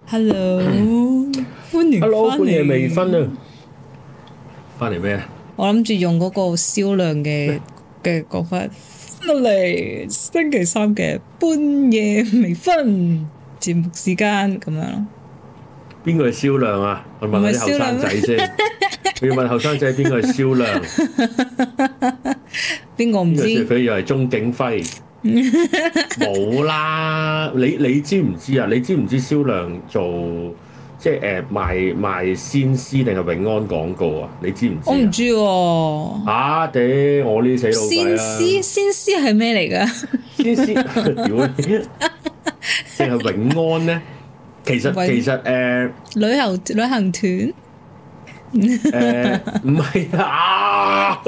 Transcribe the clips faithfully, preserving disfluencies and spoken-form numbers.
Hello，歡迎 Hello，半夜微醺啊！翻嚟咩啊？ 我諗住用嗰個銷量嘅嘅講法嚟星期三嘅半夜微醺節目時間咁樣咯。 邊個係銷量啊？我問下啲後生仔先。我要問後生仔邊個係銷量？ 邊個唔知？ 佢以為係鍾景輝。冇啦！你你知唔知啊？你知唔知銷量做即係誒、呃、賣賣鮮絲定係永安廣告啊？你知唔知？我唔知喎。 啊嗲！我呢死老細啊！ 鮮絲鮮絲係咩嚟㗎？ 鮮絲屌你！定係永安咧？其實其實誒、呃、 旅遊旅行團誒唔係啊！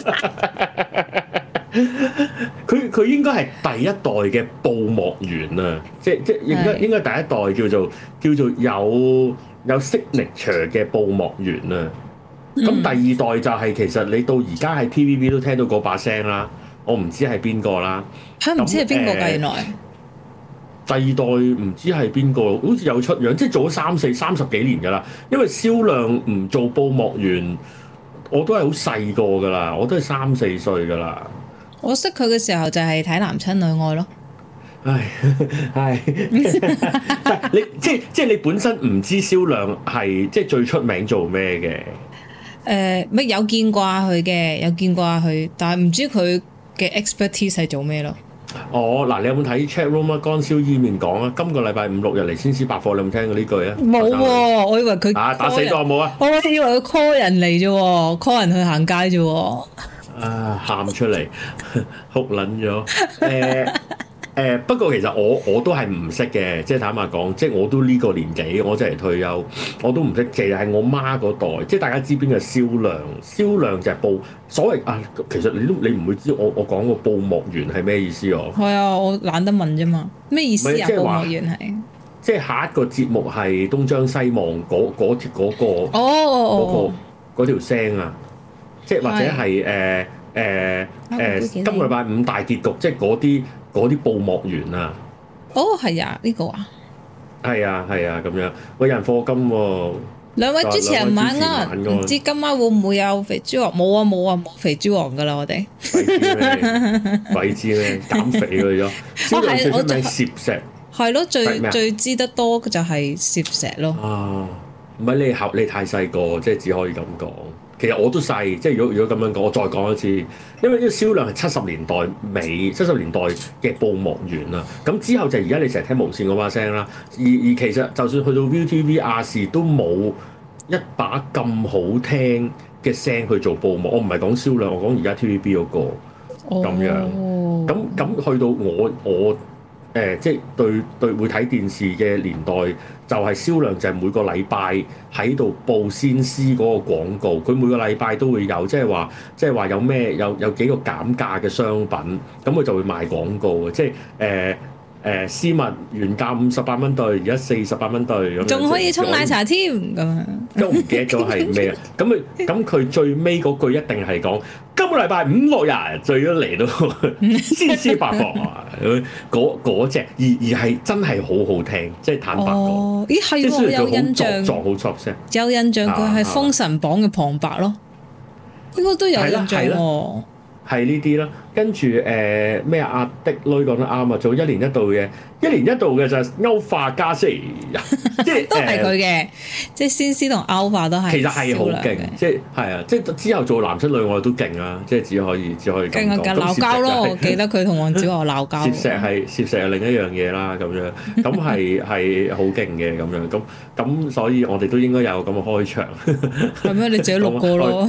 佢佢應該係第一代嘅布幕員啊，即即應該應該第一代叫做叫做有有 signature 嘅布幕員啊。咁、嗯、第二代就係、是、其實你到而家喺 T V B 都聽到嗰把聲啦，我唔知係邊個啦。 嚇唔知係邊個㗎？原來第二代唔知係邊個，好似有出樣，即係做咗三四三十幾年㗎啦。因為銷量唔做布幕員，我都係好細個㗎啦，我都係三四歲㗎啦。 我識佢嘅時候就係睇《男親女愛》咯。 唉，係，你即係即係你本身唔知銷量係即係最出名做咩嘅？誒、 呃，乜有見過佢嘅，有見過佢，但係唔知佢嘅 expertise 係做咩咯？ 哦，嗱，你有冇睇 chat room 啊？乾燒伊麵講啊，今個禮拜五六日嚟先施百貨，你有冇聽過呢句啊？ 冇喎，我以為佢啊打死咗有冇啊？ 我以為佢 call 人嚟啫，call 人去行街啫。 啊！喊出嚟，哭撚咗。誒誒，不過其實我我都係唔識嘅，即係坦白講，即係我都呢個年紀，我真係退休，我都唔識。其實係我媽嗰代，即係大家知邊個銷量？銷量就係布所謂啊。其實你都你唔會知我我講個布幕員係咩意思哦？係啊，我懶得問啫嘛。咩意思啊？布幕員係即係下一個節目係東張西望嗰嗰條嗰個哦哦嗰個嗰條聲啊！即係或者係誒誒誒今個禮拜五大結局，即係嗰啲嗰啲布幕員啊！ 哦，係啊，呢、這個啊， 係啊係啊咁樣，喂，有人課金喎、哦！ 兩位主持人晚安，唔知今晚會唔會有肥豬王？冇啊冇啊冇肥豬王噶啦，我哋鬼知咩？鬼知咩？減肥去咗。銷量最出名攝石， 係咯，最最知得多就係攝石咯。 啊，唔係你後你太細個，即係只可以咁講。其實我都細，即係如果如果咁樣講，我再講一次，因為呢個銷量係七十年代尾、七十年代嘅布幕員啦。咁之後就而家你成日聽無線嗰把聲啦。而而其實就算去到 V T V 亞視都冇一把咁好聽嘅聲去做布幕。我唔係講銷量，我講而家 T V B 嗰個咁樣。咁咁去到我我。誒、呃，即係對對會睇電視嘅年代，就係、是、銷量就係每個禮拜喺度報鮮絲嗰個廣告，佢每個禮拜都會有，即係話即係話有咩有有幾個減價嘅商品，咁佢就會賣廣告嘅，即係誒。呃誒絲襪原價五十八蚊對，而家四十八蚊對咁樣，仲可以沖奶茶添咁樣。 都唔記得咗係咩啊？咁佢咁佢最尾嗰句一定係講今個禮拜五六日最咗嚟到鮮絲百貨啊！嗰嗰隻而而係真係好好聽，即係坦白講。 哦，咦係喎，有印象， 作好作聲， 有印象佢係封神榜嘅旁白咯，應該都有印象喎。 係呢啲啦，跟住誒咩阿的女講得啱啊，做一年一度嘅，一年一度嘅就係歐化加四，即係都係佢嘅，即係鮮絲同歐化都係。其實係好勁，即係係啊，即係之後做男親女愛都勁啊，即係只可以只可以咁講。勁啊！鬧交咯，我記得佢同黃子華鬧交。攝石係攝石係另一樣嘢啦，咁樣咁係係好勁嘅咁樣，咁咁所以我哋都應該有咁嘅開場。 係咩？你自己錄過咯。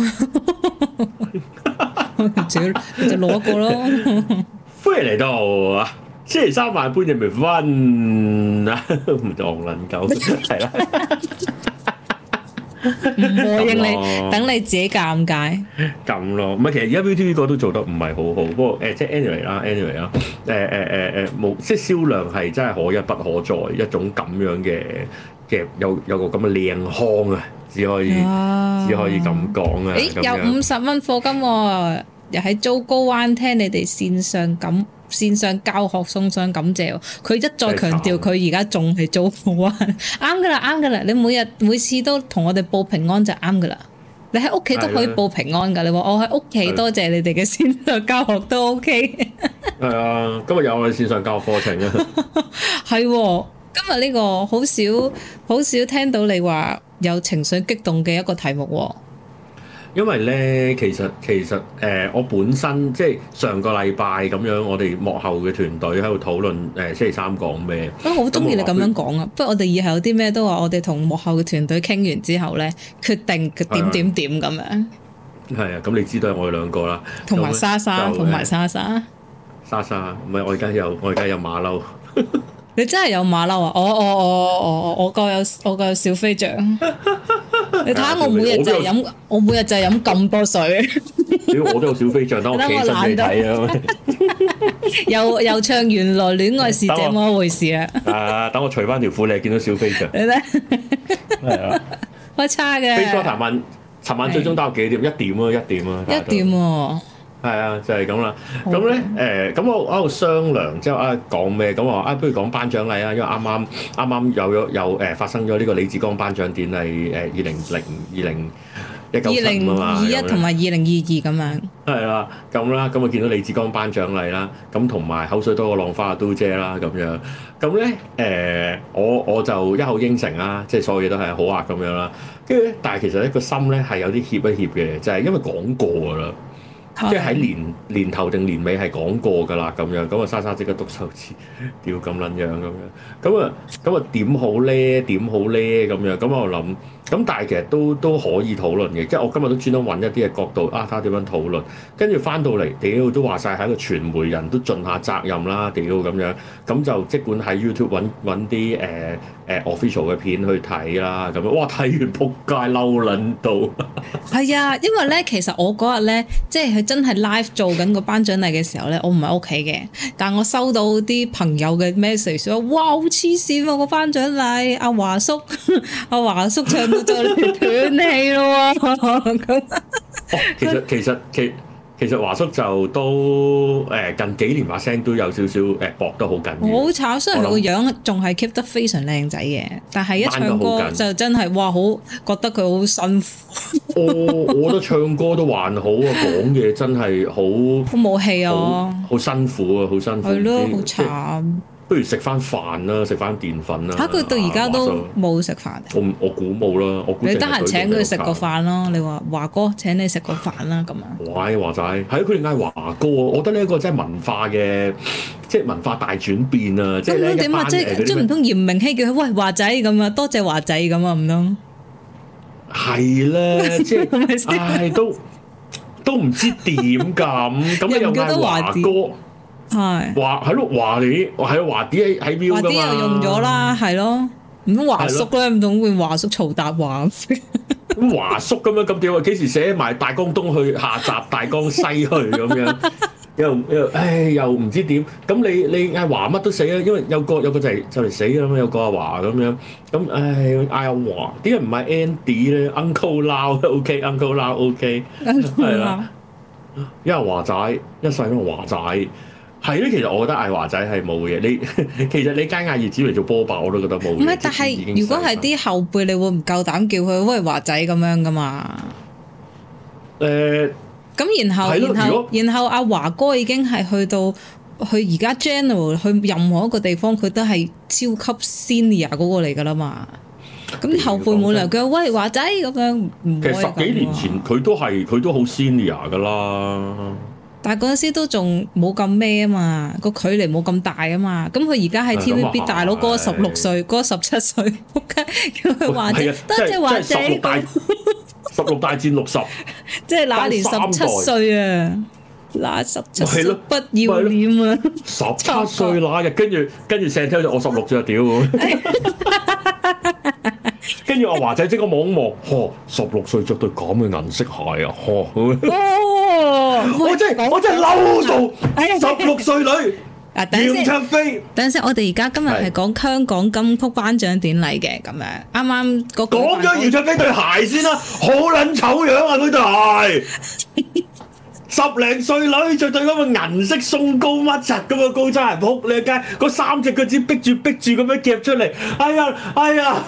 自己就攞一個咯。 歡迎嚟到啊！星期三晚半夜微醺啊，唔當撚鳩係啦。 唔會應你，等你自己尷尬。 咁咯，唔係其實而家 V T V 個都做得唔係好好，不過誒即係 anyway 啦，anyway 啦，誒誒誒誒冇，即係銷量係真係可一不可再一種咁樣嘅嘅有有個咁嘅靚腔啊！只可以、啊、只可以咁講啊！ 誒，有五十蚊課金喎， 又喺竹篙灣聽你哋線上感線上教學送上感謝。佢一再強調佢而家仲係竹篙灣，啱噶啦，啱噶啦。你每日每次都同我哋報平安就啱噶啦。你喺屋企都可以報平安噶。你話我喺屋企多謝你哋嘅線上教學都 OK。係啊，今日有我哋線上教學課程啊。係。 今日呢個好少好少聽到你話有情緒激動嘅一個題目喎。 因為咧，其實其實誒、呃，我本身即係上個禮拜咁樣，我哋幕後嘅團隊喺度討論誒、呃、星期三講咩。我好中意你咁樣講啊！不過我哋以後有啲咩都話，我哋同幕後嘅團隊傾完之後咧，決定點點點咁樣。係啊，咁你知道係我哋兩個啦，同埋莎莎，同埋莎莎。莎莎，唔係我而家有我而家有馬騮。你真係有馬騮啊！我我我我我個有我個有小飛象。你睇下我每日就係飲，我每日就係飲咁多水。屌，我都有小飛象，等我企身俾你睇啊！又又唱原來戀愛是這麼一回事啊！啊，等我除翻條褲，你係見到小飛象。你睇，係啊，開叉嘅。飛哥談問，尋晚最終打到幾點？一點啊，一點啊，一點喎。係啊，就係咁啦。咁咧，誒，咁我喺度商量之後啊，講咩？咁我話啊，不如講頒獎禮啊，因為啱啱啱啱有咗有誒發生咗呢個李志剛頒獎典禮誒，二零零二零一九七五啊嘛，二零二一同埋二零二二咁樣。係啦，咁啦，咁我見到李志剛頒獎禮啦，咁同埋口水多過浪花啊，都姐啦咁樣。咁咧，誒，我我就一口應承啦，即係所有嘢都係好啊咁樣啦。跟住咧，但係其實咧個心咧係有啲怯一怯嘅，就係因為講過㗎啦。即係喺年年頭定年尾係講過㗎啦，咁樣咁啊，莎莎即刻篤手指，屌咁撚樣咁樣，咁啊咁啊點好咧？點好咧？咁樣咁我諗，咁但係其實都都可以討論嘅，即係我今日都專登揾一啲嘅角度啊，睇下點樣討論，跟住翻到嚟，屌都話晒係一個傳媒人都盡下責任啦，屌咁樣，咁就即管喺 YouTube 揾揾啲誒誒 official 嘅片去睇啦，咁樣哇睇完仆街嬲撚到，係啊，因為咧其實我嗰日咧即係佢。真係 live 做緊個頒獎禮嘅時候咧，我唔喺屋企嘅，但我收到啲朋友嘅 message 話：哇，好黐線喎個頒獎禮！阿華叔，阿華叔唱到就嚟斷氣咯喎！哦，其實其實其其實華叔就都誒近幾年把聲都有少少誒薄得好緊要。好慘，雖然佢個樣仲係 keep 得非常靚仔嘅，但係一唱歌就真係哇，好覺得佢好辛苦。我我覺得唱歌都還好啊，講嘢真係好好冇氣啊，好辛苦啊，好辛苦。係咯，好慘。不如食翻飯啦，食翻澱粉啦。嚇！佢到而家都冇食飯。我我估冇啦，我估你得閒請佢食個飯咯。你話華哥請你食個飯啦，咁啊。喂，華仔，係啊，佢哋嗌華哥啊！我覺得呢一個真係文化嘅，即係文化大轉變啊！即係咧一班誒嗰啲即係唔通嚴明熙叫佢喂華仔咁啊？多謝華仔咁啊？唔通？係咧，即係唉，都都唔知點咁，咁你又嗌華哥。係華係咯，華啲係華啲喺喺 view 噶嘛，華啲又用咗啦，係咯，唔通華叔咧，唔通換華叔曹達華咁華叔咁樣咁點啊？幾時寫埋大江東去下集大江西去咁樣？又又唉又唔知點？咁你你嗌華乜都死啦，因為有個有個就嚟就嚟死啦嘛，有個阿華咁樣，咁唉嗌阿華，點解唔係 Andy 咧 ？Uncle Lau OK，Uncle Lau OK，係啦，因為華仔一世都華仔。係咧，其實我覺得嗌華仔係冇嘅。你其實你加嗌葉子嚟做波霸，我都覺得冇。唔係，但係如果係啲後輩，你會唔夠膽叫佢喂華仔咁樣噶嘛？誒、呃，咁然後然後然後阿華哥已經係去到去而家 general 去任何一個地方，佢都係超級 senior 嗰個嚟噶啦嘛。咁啲後輩冇理由叫喂華仔咁樣。其實十幾年前佢都係佢都好 senior 噶啦。但係嗰陣時都仲冇咁咩啊嘛，個距離冇咁大啊嘛，咁佢而家喺 T V B 大佬嗰個十六歲，嗰個十七歲，仆街叫佢華仔，多謝華仔。十六大十六大戰六十，即係那年十七歲啊，那十七歲不要臉啊！十七歲那日，跟住跟住成聽就我十六歲屌，跟住阿華仔即刻望一望，呵，十六歲着對咁嘅銀色鞋啊，呵。我真係我真係嬲到十六歲女楊卓飛。等陣先，我哋而家今日係講香港金曲頒獎典禮嘅咁樣，啱啱嗰個講咗楊卓飛對鞋先啦，好撚醜樣啊！佢對鞋十零歲女着對嗰個銀色鬆糕乜柒咁嘅高踭鞋仆你街，嗰三隻腳趾逼住逼住咁樣夾出嚟，哎呀哎呀，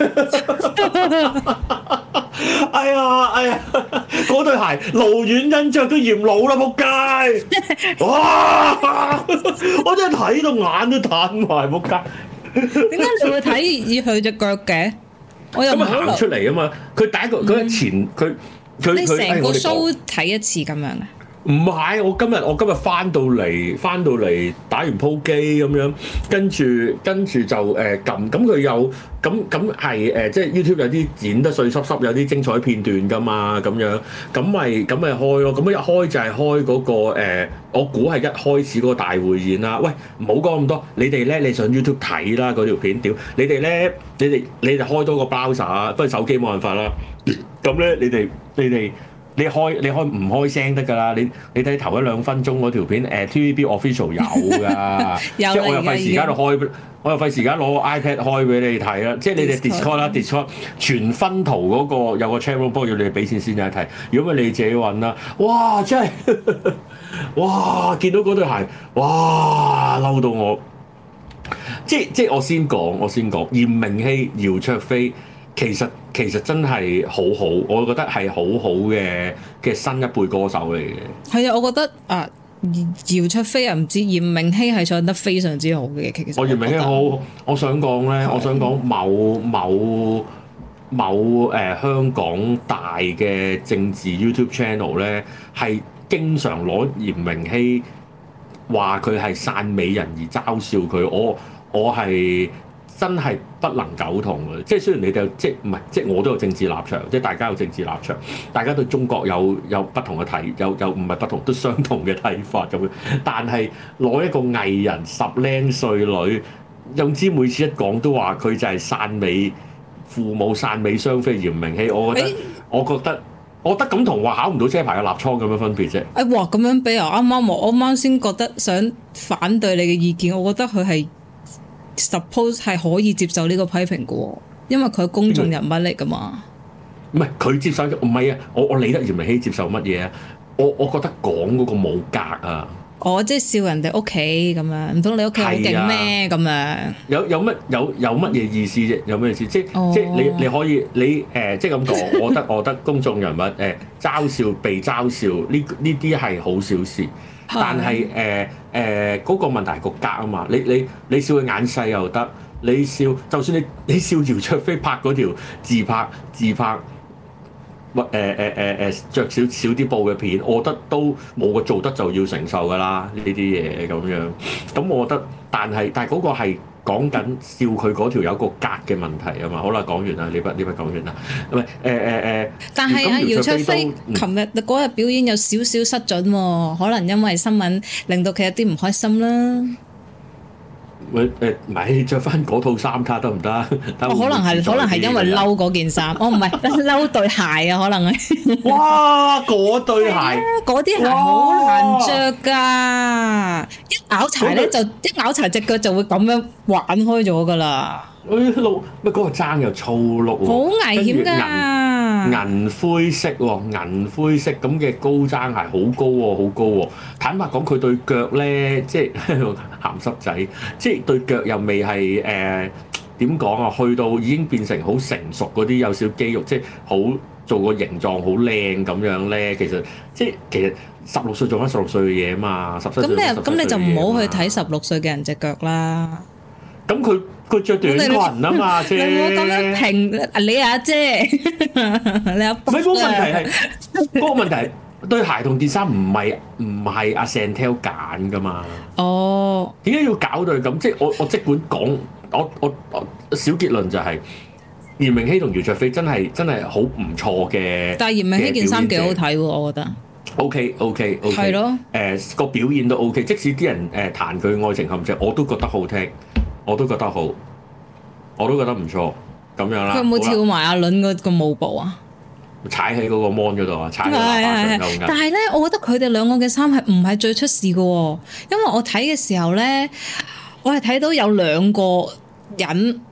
哎呀哎呀，嗰對鞋盧遠欣着都嫌老啦仆街，哇！我真係睇到眼都彈埋仆街。 點解你會睇佢隻腳嘅？我又唔好行出嚟啊嘛！佢第一個佢前佢佢你成個 show 睇、 哎、 一次咁樣嘅？ 唔係，我今日我今日翻到嚟翻到嚟打完鋪機咁樣，跟住跟住就誒撳，咁佢有咁咁係誒，即係 YouTube 有啲剪得碎濕濕，有啲精彩片段噶嘛，咁樣咁咪咁咪開咯。咁一開就係開嗰、嗰個、呃、我估係一開始嗰個大會演啦。喂，唔好講咁多，你哋咧你上 YouTube 睇啦嗰條片，屌你哋咧，你哋你哋開多個 browser，不過手機冇辦法啦。咁咧，你哋你哋。你開你開唔開聲得㗎啦？你你睇頭一兩分鐘嗰條片，誒 T V B official 有㗎，即係我又費時間度開，我又費時間攞 iPad 開俾你睇啦。即係你哋 Discord 啦 ，Discord 全分圖嗰個有個 channel，不過要你哋俾錢先有得睇。如果唔係你自己揾啦，哇！真係，哇！見到嗰對鞋，哇！嬲到我。即即係我先講，我先講，嚴明熙、姚焯菲。其實其實真係好好，我覺得係好好嘅嘅新一輩歌手嚟嘅。係啊，我覺得啊，姚焯菲啊，唔知嚴明熙係唱得非常之好嘅。其實我嚴明熙好，我想講咧，我想講某某某誒、呃、香港大嘅政治 YouTube channel 咧，係經常攞嚴明熙話佢係汕美人而嘲笑佢。我我係。真係不能苟同嘅，即係雖然你哋即唔係即係我都有政治立場，即係大家有政治立場，大家對中國有有不同嘅睇，有有唔係不同都相同嘅睇法咁樣。但係攞一個藝人十零歲女，總之每次一講都話佢就係汕美父母汕美雙非嚴明熙，我覺得、欸、我覺得我覺得咁同話考唔到車牌嘅立倉咁樣分別啫。哎哇，咁樣比啊！啱啱我啱啱先覺得想反對你嘅意見，我覺得佢係。Suppose 係可以接受呢個批評嘅喎，因為佢係公眾人物嚟噶嘛。 唔係佢接受，唔係啊！我我理得嚴明熙接受乜嘢啊？我我覺得講嗰個冇格啊！ 哦，即係笑人哋屋企咁樣，唔通你屋企好勁咩？咁、啊、樣有有乜有有乜嘢意思啫？有咩意思？即、哦、即你你可以你誒、呃、即係咁講，我覺得我覺得公眾人物誒、呃、嘲笑被嘲笑呢呢啲係好小事。但係誒誒嗰個問題係個格啊嘛，你你你笑佢眼細又得，你笑就算你你笑姚焯菲拍嗰條自拍自拍，或誒誒誒誒著少少啲布嘅片，我覺得都冇個做得就要承受㗎啦，呢啲嘢咁樣。咁我覺得，但係但係嗰個係。講緊笑佢嗰條有個格嘅問題啊嘛，好啦，講完啦，呢筆呢筆講完啦，唔係誒誒誒。但係啊，姚焯菲琴日嗰日表演有少少失準喎，可能因為新聞令到佢有啲唔開心啦。喂誒，咪着翻嗰套衫卡得唔得？可能係可能係因為嬲嗰件衫，哦唔係嬲對鞋啊，可能係。哇！嗰對鞋，嗰啲鞋好難着㗎，一拗柴咧就一拗柴隻腳就會咁樣玩開咗㗎啦。誒路乜嗰個踭又粗碌喎，好危險㗎！銀灰色喎，銀灰色咁嘅高踭鞋好高喎，好高喎。坦白講，佢對腳咧，即係鹹濕仔，即係對腳又未係誒點講啊？去到已經變成好成熟嗰啲，有少肌肉，即係好做個形狀好靚咁樣咧。其實即係其實十六歲做翻十六歲嘅嘢啊嘛，十七歲。咁你咁你就唔好去睇十六歲嘅人隻腳啦。咁佢佢著短裙啊嘛，姐。你唔好咁樣評你阿姐，你阿伯。唔係嗰個問題係，嗰個問題係對鞋同件衫唔係唔係阿 Chantel 揀噶嘛。哦。點解要搞到咁？即係我我即管講，我我我小結論就係嚴明熙同姚焯菲真係真係好唔錯嘅。但係嚴明熙件衫幾好睇喎，我覺得。OK OK OK。係咯。誒個表現都 OK，即使啲人誒彈佢愛情陷阱，我都覺得好聽。我都覺得好，我都覺得唔錯，咁樣啦。佢有冇跳埋阿倫嗰個舞步啊？踩喺嗰個 mon 嗰度啊，踩喺喇叭上有。但係咧，我覺得佢哋兩個嘅衫係唔係最出事嘅喎？因為我睇嘅時候咧，我係睇到有兩個人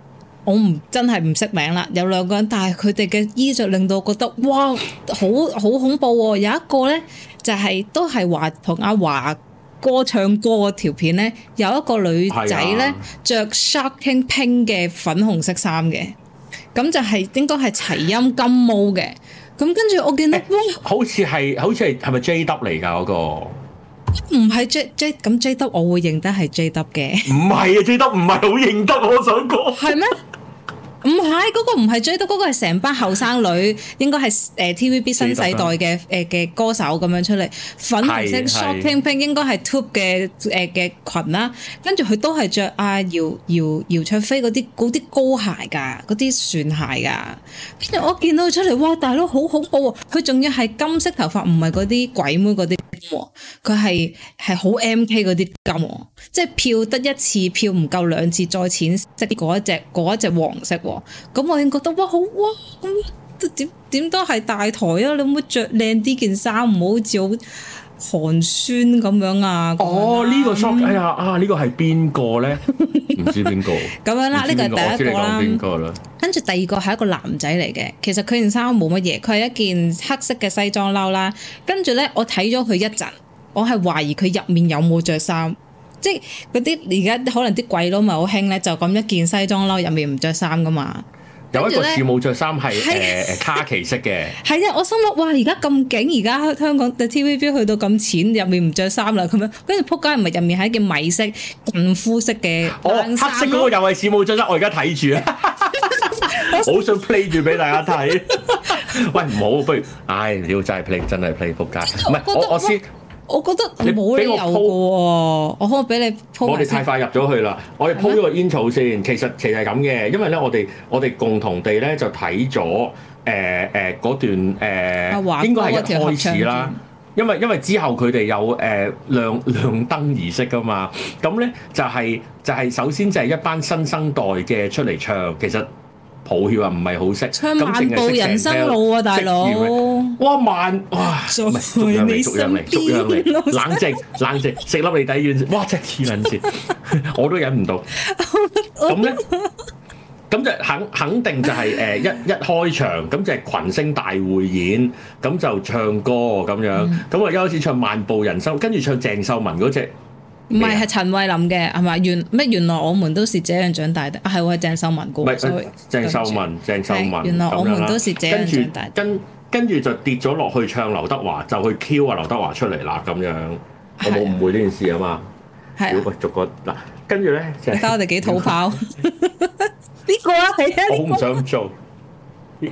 我唔真係唔識名啦，有兩個人，但係佢哋嘅衣着令到我覺得哇，好好恐怖喎！有一個咧就係、是、都係話同阿華哥唱歌嗰條片咧，有一個女仔咧着 shocking pink 嘅粉紅色衫嘅，咁就係應該係齊音金毛嘅。咁跟住我見到，欸、哇！好似係好似係係咪 J W 嚟㗎嗰個？ 唔係 J J 咁 J W 我會認得係 J W 嘅。唔係啊 J W 唔係好認得，我想講。係咩？ 唔係嗰個唔係 J W，嗰個係成班後生女，應該係誒 T V B 新世代嘅誒嘅歌手咁樣出嚟，粉紅色 shocking pink 應該係 Tube 嘅誒嘅裙啦，跟住佢都係着阿姚姚姚焯菲嗰啲嗰啲高鞋㗎，嗰啲船鞋㗎，跟住我見到佢出嚟，哇大佬好恐怖喎！佢仲要係金色頭髮，唔係嗰啲鬼妹嗰啲金喎，佢係係好 M K 嗰啲金喎，即係漂得一次漂唔夠兩次再淺色嗰一隻嗰一隻黃色喎。咁我已經覺得哇好哇咁點點都係大台啊！你可唔可以着靚啲件衫，唔好好似好寒酸咁樣啊！ 哦，呢、這個 shop 哎呀啊！這個、呢個係邊個咧？唔知邊個咁樣啦，呢個係第一個啦。 邊個啦？ 跟住第二個係一個男仔嚟嘅，其實佢件衫冇乜嘢，佢係一件黑色嘅西裝褸啦。跟住咧，我睇咗佢一陣，我係懷疑佢入面有冇着衫。即係嗰啲而家可能啲鬼佬咪好興咧，就咁一件西裝褸入面唔着衫噶嘛。 有一個似冇着衫係誒誒卡其色嘅。係啊，我心諗哇，而家咁勁，而家香港嘅 T V B 去到咁淺，入面唔着衫啦咁樣。跟住仆街唔係入面係一件米色近膚色嘅冷衫。哦，黑色嗰個又係似冇着衫，我而家睇住啊，好想 play 住俾大家睇。喂，唔好，不如，唉，屌真係 play，真係 play 仆街。唔係我我先。我覺得你冇理由嘅喎，我可唔可以俾你鋪？我哋太快入咗去啦，我哋鋪咗個煙草先。其實其實係咁嘅，因為咧我哋我哋共同地咧就睇咗誒誒嗰段誒，呃、應該係一開始啦。因為因為之後佢哋有誒、呃、亮亮燈儀式㗎嘛，咁咧就係、是、就係、是、首先就係一班新生代嘅出嚟唱，其實。抱歉啊，唔係好識，唱漫步人生路啊，大佬！哇慢哇，唔係逐樣嚟，逐樣嚟，逐樣嚟，冷靜冷靜，食粒脷底丸，哇真係黐撚線，我都忍唔到。咁咧，咁就肯肯定就係誒一一開場，咁就係群星大匯演，咁就唱歌咁樣，咁啊一開始唱漫步人生，跟住唱鄭秀文嗰隻。唔係，係陳慧琳嘅，係咪？原咩？原來我們都是這樣長大的。啊，係喎，係鄭秀文歌。唔係，鄭秀文，鄭秀文。原來我們都是這樣長大的。跟跟住就跌咗落去唱劉德華，就去 Q 啊劉德華出嚟啦咁樣。我冇誤會呢件事啊嘛。係。如果逐個嗱，跟住咧就。睇下我哋幾土炮。呢個啊，係啊。我好唔想做。喂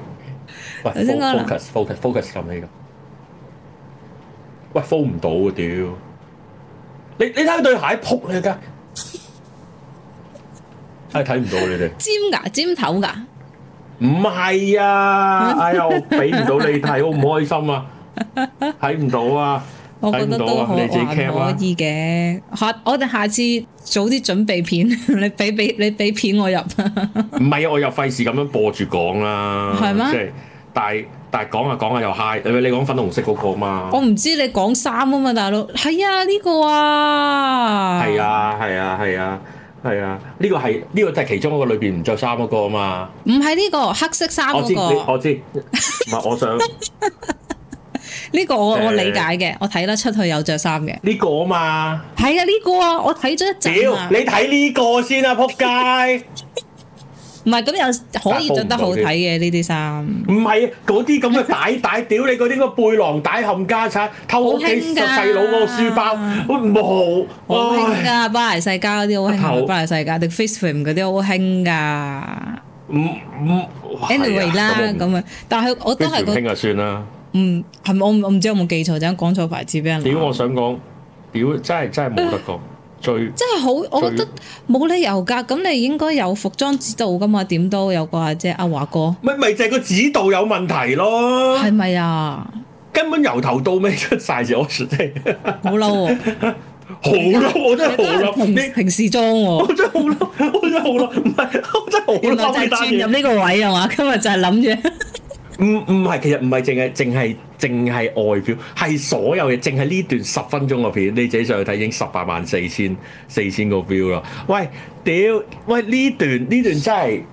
，focus，focus，focus 咁呢個。喂 ，focus 唔到啊屌！你你睇佢對鞋撲你㗎，係睇唔到你哋尖㗎尖頭㗎，唔係啊！哎呀，我俾唔到你睇，好唔開心啊！睇唔到啊！我覺得都好還可以嘅。下我哋下次早啲準備片，你俾俾你俾片我入。唔係啊，我又費事咁樣播住講啦。係咩？即係但係。但係講下講下又 high，你講粉紅色嗰個嘛？我唔知你講衫啊嘛，大佬。係啊，呢、呢個啊。係啊，係啊，係啊，係啊，呢個係呢個就係其中一個裏邊唔着衫嗰個啊嘛。唔係呢個黑色衫嗰、嗰個。我知，我知。唔係，我想。呢個我我理解嘅，呃、我睇得出佢有着衫嘅。呢個啊嘛。係啊，呢、呢個啊，我睇咗一陣啊。你睇呢個先啊，仆街！唔係咁又可以着得好睇嘅呢啲衫。唔係嗰啲咁嘅帶帶，屌你嗰啲個背囊帶冚家產，偷屋企細佬嗰個書包，冇。好興㗎，巴黎世家嗰啲好興，巴黎世家定 Facefilm 嗰啲好興㗎。唔唔，anyway 啦咁啊，但係我都係覺得興就算啦。嗯，係咪我我唔知有冇記錯，就咁講錯牌子俾人。屌，我想講，屌真係真係冇得講。最真係好，我覺得冇理由㗎。咁你應該有服裝指導㗎嘛？點都有個即係阿華哥。咪咪就係個指導有問題咯。係咪啊？根本由頭到尾出晒字，我真係好嬲喎！好嬲，我真係好嬲。你平時裝喎，我真係好嬲，我真係好嬲。唔係，我真係好嬲。原來就係轉入呢個位係嘛？今日就係諗住。唔唔係，其實唔係淨係淨係淨係外表，係所有嘢，淨係呢段十分鐘嘅片，你自己上去睇已經十八萬四千四千個 view 啦。喂，屌，喂呢段呢段真係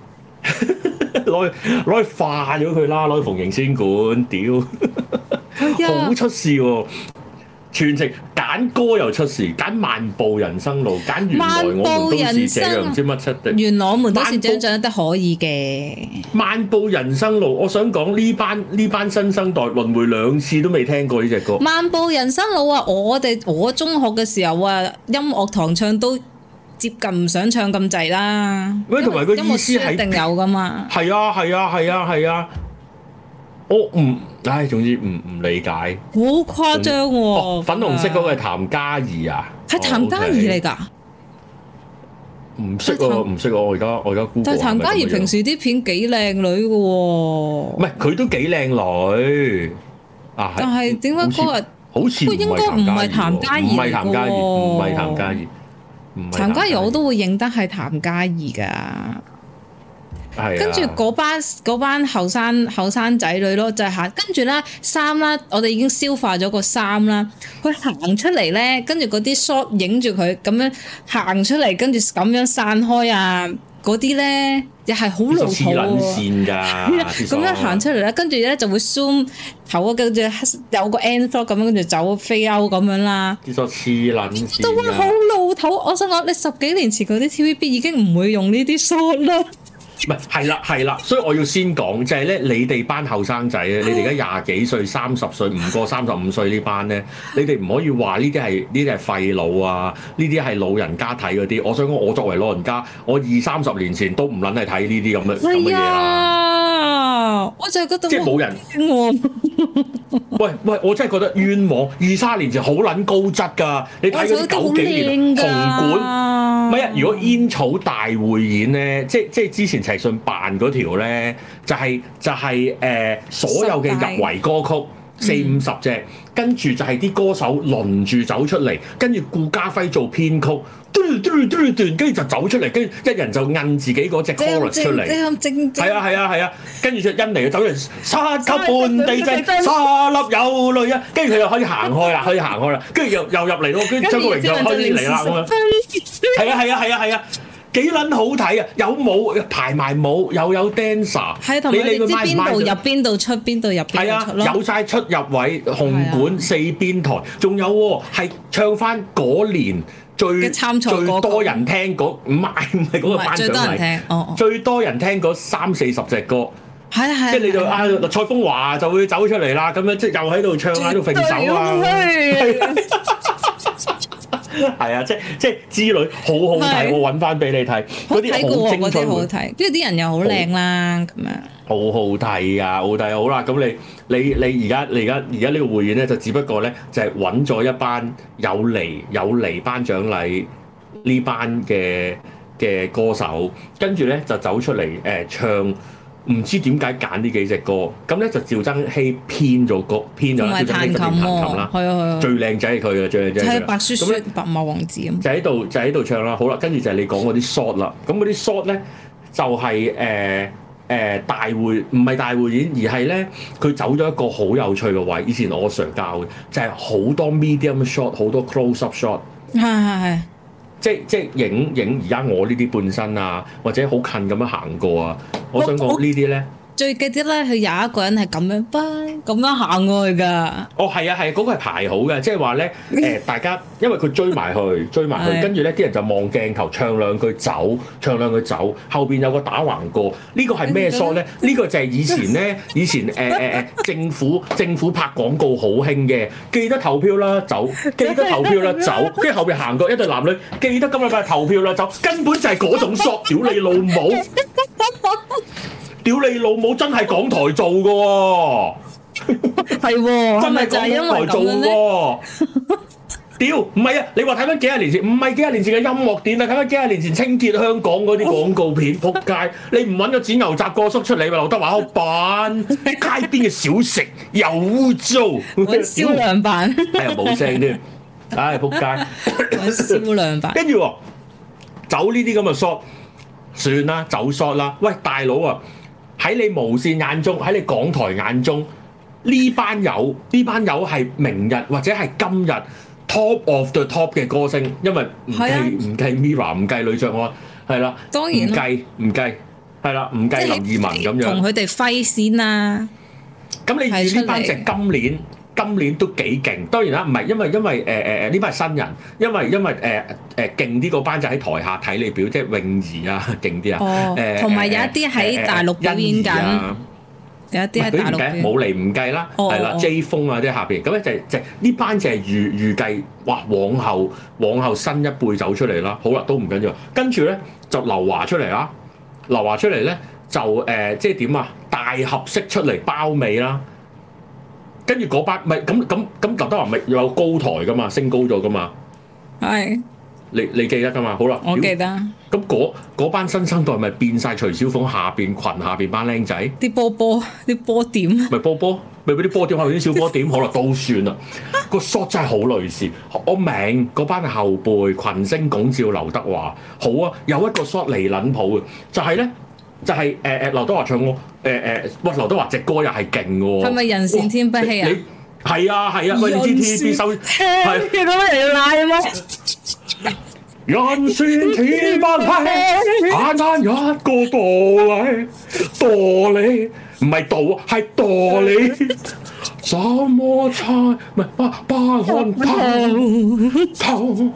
攞攞去化咗佢啦，攞去縫形仙管，屌，好出事喎！全程揀歌又出事，揀漫步人生路，揀原來我們都是這樣，唔知乜七的。 原來我們都是這樣，長得可以嘅。 漫步人生路，我想講呢班呢班新生代輪迴兩次都未聽過呢隻歌。 漫步人生路啊！我哋我中學嘅時候啊，音樂堂唱都接近唔想唱咁滯啦。喂， 同埋個意思係一定有噶嘛？ 係啊係啊係啊係啊！我唔，唉，總之唔唔理解， 好誇張喎！ 哦、粉紅色嗰個係譚嘉儀啊， 係譚嘉儀嚟㗎？ 唔識喎，唔識喎，我而家我而家 Google。 但係譚嘉儀平時啲片幾靚女㗎喎，唔係佢都幾靚女啊！ 但係點解嗰日好似應該唔係譚嘉儀， 唔係譚嘉儀，唔係譚嘉儀， 譚嘉儀我都會認得係譚嘉儀㗎。跟住嗰班嗰班後生後生仔女咯，就係行跟住咧衫啦，我哋已經消化咗個衫啦。佢行出嚟咧，跟住嗰啲 shot 影住佢咁樣行出嚟，跟住咁樣散開啊！嗰啲咧又係好老土喎。咁樣行出嚟咧，跟住咧就會 zoom 頭啊，跟住有個 end shot 咁樣，跟住走飛歐咁樣啦。 啲 shot 黐撚線㗎。 都好老土，我想講你十幾年前嗰啲 T V B 已經唔會用呢啲 shot 啦。 唔係，係啦係啦，所以我要先講，就係咧，你哋班後生仔咧，你哋而家廿幾歲、三十歲，唔過三十五歲呢班咧，你哋唔可以話呢啲係呢啲係廢老啊，呢啲係老人家睇嗰啲。我想講，我作為老人家，我二三十年前都唔撚係睇呢啲咁嘅咁嘅嘢啦。 我就係覺得即係冇人。喂喂，我真係覺得冤枉！二三年前好撚高質㗎，你睇嗰啲九幾年紅館，唔係啊！如果煙草大匯演咧，即係即係之前陳奕迅扮嗰條咧，就係、是、就係、是、誒、呃、所有嘅入圍歌曲四五十隻，跟住就係啲歌手輪住走出嚟，跟住顧嘉輝做編曲。跟住就走出嚟，跟住一人就摁自己嗰隻 chorus 出嚟，係啊係啊係啊，跟住就因嚟走嚟，三級半地震，沙粒有淚啊，跟住佢又可以行開啦，可以行開啦，跟住又又入嚟咯，跟住張國榮就開始嚟啦咁樣，係啊係啊係啊係啊，幾撚好睇啊！有舞排埋舞，又有 dancer， 係同埋你知邊度入邊度出，邊度入邊度出咯， 有晒出入位，紅館四邊台，仲有喎係唱翻嗰年。最最多人聽嗰唔係唔係嗰個頒獎禮，哦哦、最多人聽嗰三四十隻歌， 係係， 即係你就啊蔡楓華就會走出嚟啦，咁樣即係又喺度唱喺度揈手啊，係啊，即即之類好好睇，我揾翻俾你睇，嗰啲好精彩， 好睇，跟住啲人又好靚啦，咁樣好好睇啊，好睇好啦，咁你你你而家你而家而家呢個匯演咧，就只不過咧就係揾咗一班有嚟有嚟頒獎禮呢班嘅嘅歌手，跟住咧就走出嚟誒、呃、唱。唔知點解揀呢幾隻歌，咁咧就趙增熹編咗歌，編咗趙增熹就練彈琴啦，係啊係啊，最靚仔係佢嘅，最靚仔係佢。白雪雪、白馬王子咁。就喺度就喺度唱啦，好啦，跟住就係你講嗰啲 shot 啦，咁嗰啲 shot 咧就係誒誒大會，唔係大會演，而係咧佢走咗一個好有趣嘅位，以前我 Sir 教嘅，就係、是、好多 medium shot，好多 close up shot。係係係。即即影影而家我呢啲半身啊，或者好近咁樣行過啊，我想講呢啲咧。最記得咧，佢有一個人係咁樣，咁樣行過去㗎。哦，係啊，係嗰、嗰個係排好嘅，即係話咧，誒、呃、大家因為佢追埋去，追埋去，跟住咧啲人就望鏡頭唱兩句走，唱兩句走，後邊有個打橫過，呢、呢個係咩 shot 咧？呢個就係以前咧，以前誒誒誒政府政府拍廣告好興嘅，記得投票啦，走，記得投票啦，走，跟住後邊行過一對男女，記得今日快投票啦，走，根本就係嗰種 shot，屌你老母！屌你老母！真係港台做嘅喎，係喎，真係港台做嘅喎。屌，唔係啊！你話睇翻幾廿年前，唔係幾廿年前嘅音樂店啊，睇翻幾廿年前清潔香港嗰啲廣告片，仆街！你唔揾個剪牛雜過叔出嚟，咪劉德華好扮街邊嘅小食又污糟，銷量版，係啊冇聲添，唉仆街，銷量版。跟住走呢啲咁嘅 shot，算啦，走 shot 啦。喂，大佬啊！喺你無線眼中，喺你港台眼中，呢班友呢班友係明日或者係今日 top of the top 嘅歌星，因為唔計唔計 Mirror， 唔計呂爵安，係啦，當然唔計唔計係啦，唔計林二汶咁樣， 同佢哋揮先啦。 咁你預呢班隻今年今年都幾勁，當然啦，唔係因為因為誒誒誒呢班係新人，因為因為誒誒勁啲嗰班就喺台下睇你表，即係泳兒啊勁啲啊，誒同埋有一啲喺大陸表演緊，有一啲喺大陸冇嚟唔計啦，係啦 J 風啊，即係下邊咁咧就就呢班就係預預計，哇往後往後新一輩走出嚟啦，好啦都唔緊要，跟住咧就劉華出嚟啦，劉華出嚟咧就誒即係點啊大合式出嚟包尾啦。跟住嗰班咪咁咁咁劉德華咪有高台噶嘛，升高咗噶嘛， 係你你記得噶嘛？好啦， 我記得。 咁嗰班新生代咪變晒徐小鳳下邊裙下邊班僆仔， 啲波波啲波點， 咪波波咪俾啲波點下邊啲小波點，好啦都算啦。個 shot 真係好類似，我明嗰班後輩群星拱照劉德華，好啊，有一個 shot 離撚譜嘅，就係、是、咧。就係誒誒劉德華唱歌，誒、呃、誒，哇劉德華隻歌又係勁喎。係咪人善天不欺啊？ 係啊係啊，喂你知 T V B 收係見到乜人要賴咩？ 人善天不欺，簡單一個道理，道理唔係道係道理。什麼菜唔係不不看透透。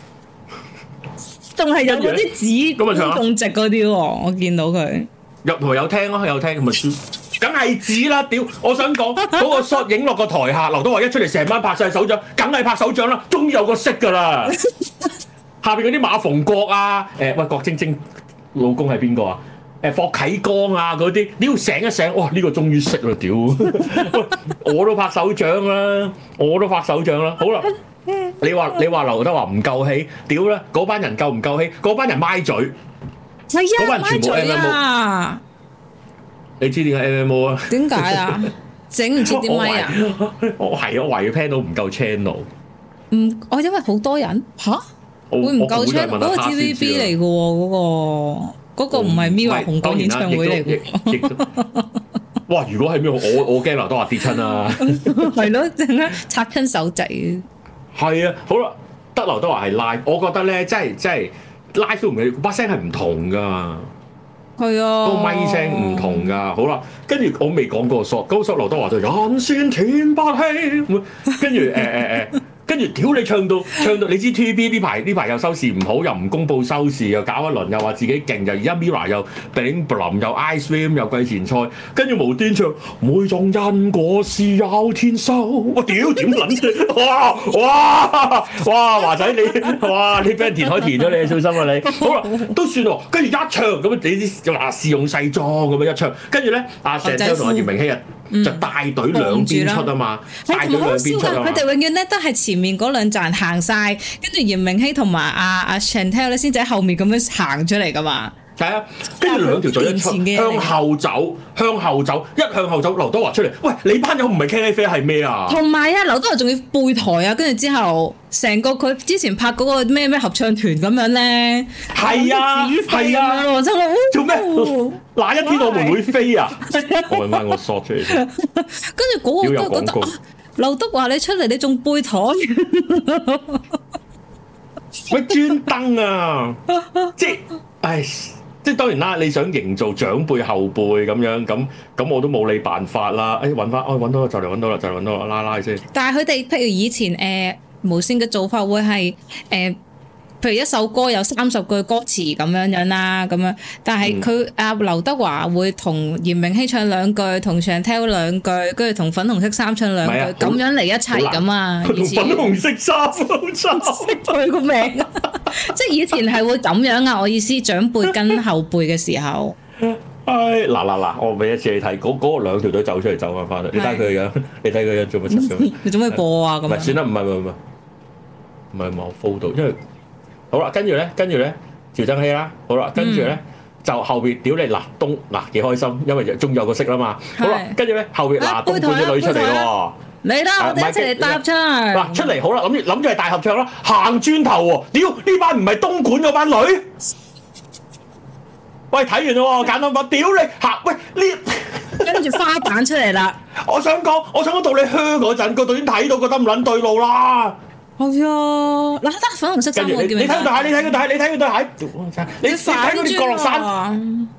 仲係有嗰啲紙咁直嗰啲喎，我見到佢入台有聽咯，有聽咁咪，梗係紙啦！屌，我想講嗰、嗰個 shot 影落個台下，劉德華一出嚟成班拍晒手掌，梗係拍手掌啦！終於有個識㗎啦，下邊嗰啲馬逢國啊，誒、欸、喂郭晶晶老公係邊個啊？誒霍啟剛啊嗰啲，你要醒一醒，哇呢、呢個終於識啦！屌，我都拍手掌啦，我都拍手掌啦，好啦。你話你話劉德華唔夠氣，屌啦！嗰班人夠唔夠氣？嗰班人咪嘴，係啊，嗰班人全部 M M O 啊！你知點解 M M O 啊？點解啊？整唔切啲咪啊？我係我懷疑 panel 唔夠 channel。唔，我因為好多人吓，會唔夠 channel？嗰個 T V B 嚟嘅喎，嗰個嗰個唔係 Mirror 紅館演唱會嚟嘅。哇！如果係 Mirror，我我驚劉德華跌親啊！係咯，陣間插親手仔。係啊，好啦，得劉德華係 live，我覺得咧，真係真係 live 都唔係，把聲係唔同噶，係啊，個咪聲唔同噶，好啦，跟住我未講過 shot，嗰個 shot 劉德華就人善天不欺，跟住誒誒誒。跟住屌你唱到唱到，你知 T V B 呢排呢排又收視唔好，又唔公佈收視，又搞一輪，又話自己勁，又而家 Mirror 又 Bling Bling 又 Ice Cream 又季前賽，跟住無端唱每種因果是有天收，我屌點撚啫！哇哇哇華仔你哇你俾人填海填咗你，小心啊你！好啦都算喎，跟住一唱咁你知話試用西裝咁樣一唱，跟住咧阿鄭州同阿葉明熙啊。嗯、就帶隊兩邊出啊嘛，帶隊兩邊出啊嘛。佢哋永遠咧都係前面嗰兩站行晒，跟住嚴明熙同埋阿阿 Chantel 咧先至喺後面咁樣行出嚟噶嘛。係啊，跟住兩條隊一出，向後走，向後走，一向後走，劉德華出嚟。喂，你班友唔係 K F C 係咩啊？同埋啊，劉德華仲要背台啊，跟住之後成個佢之前拍嗰個咩咩合唱團咁樣咧。係啊，係啊，做咩？哪一天我們會飛啊？我揾翻我 shot 出嚟先。跟住嗰個都覺得劉德華你出嚟你仲背台？喂，專登啊！即係，唉。即係當然啦，你想營造長輩後輩咁樣，咁咁我都冇你辦法啦。誒揾翻，哦揾到啦，就嚟揾到啦，就嚟揾到啦，拉拉先。但係佢哋譬如以前誒、呃、無線嘅做法會係誒。呃譬如一首歌有三十句歌詞咁樣樣啦，咁樣，但係佢阿劉德華會同嚴明熙唱兩句，同 Chantel 兩句，跟住同粉紅色衫唱兩句，咁、啊、樣嚟一齊咁啊！以前粉紅色衫好差，識佢個名，即係以前係會咁樣啊！我意思長輩跟後輩嘅時候，唉嗱嗱嗱，我俾一次你睇，嗰嗰個兩條隊走出嚟走翻翻嚟，你睇佢嘅樣，你睇佢樣做乜柒咁？你做咩播啊？咁唔係算啦，唔係唔係唔係唔係冇 follow 到，因為。好啦，跟住咧，跟住咧，趙增熹啦，好啦，跟住咧、嗯、就後邊屌你嗱東嗱幾開心，因為終於有個識啦嘛。好啦，跟住咧後邊嗱東莞啲女出嚟喎，你啦，我哋一齊嚟搭唱。嗱出嚟好啦，諗住諗住係大合唱啦，行轉頭喎，屌呢班唔係東莞嗰班女。喂，睇完啦喎，簡單講，屌你行喂呢，跟住花旦出嚟啦。我想講，我想講到你靴嗰陣，個導演睇到覺得唔撚對路啦。係啊，嗱，得粉紅色衫我叫你睇佢對鞋，你睇佢對鞋，你睇佢對鞋，你你睇嗰啲降落傘，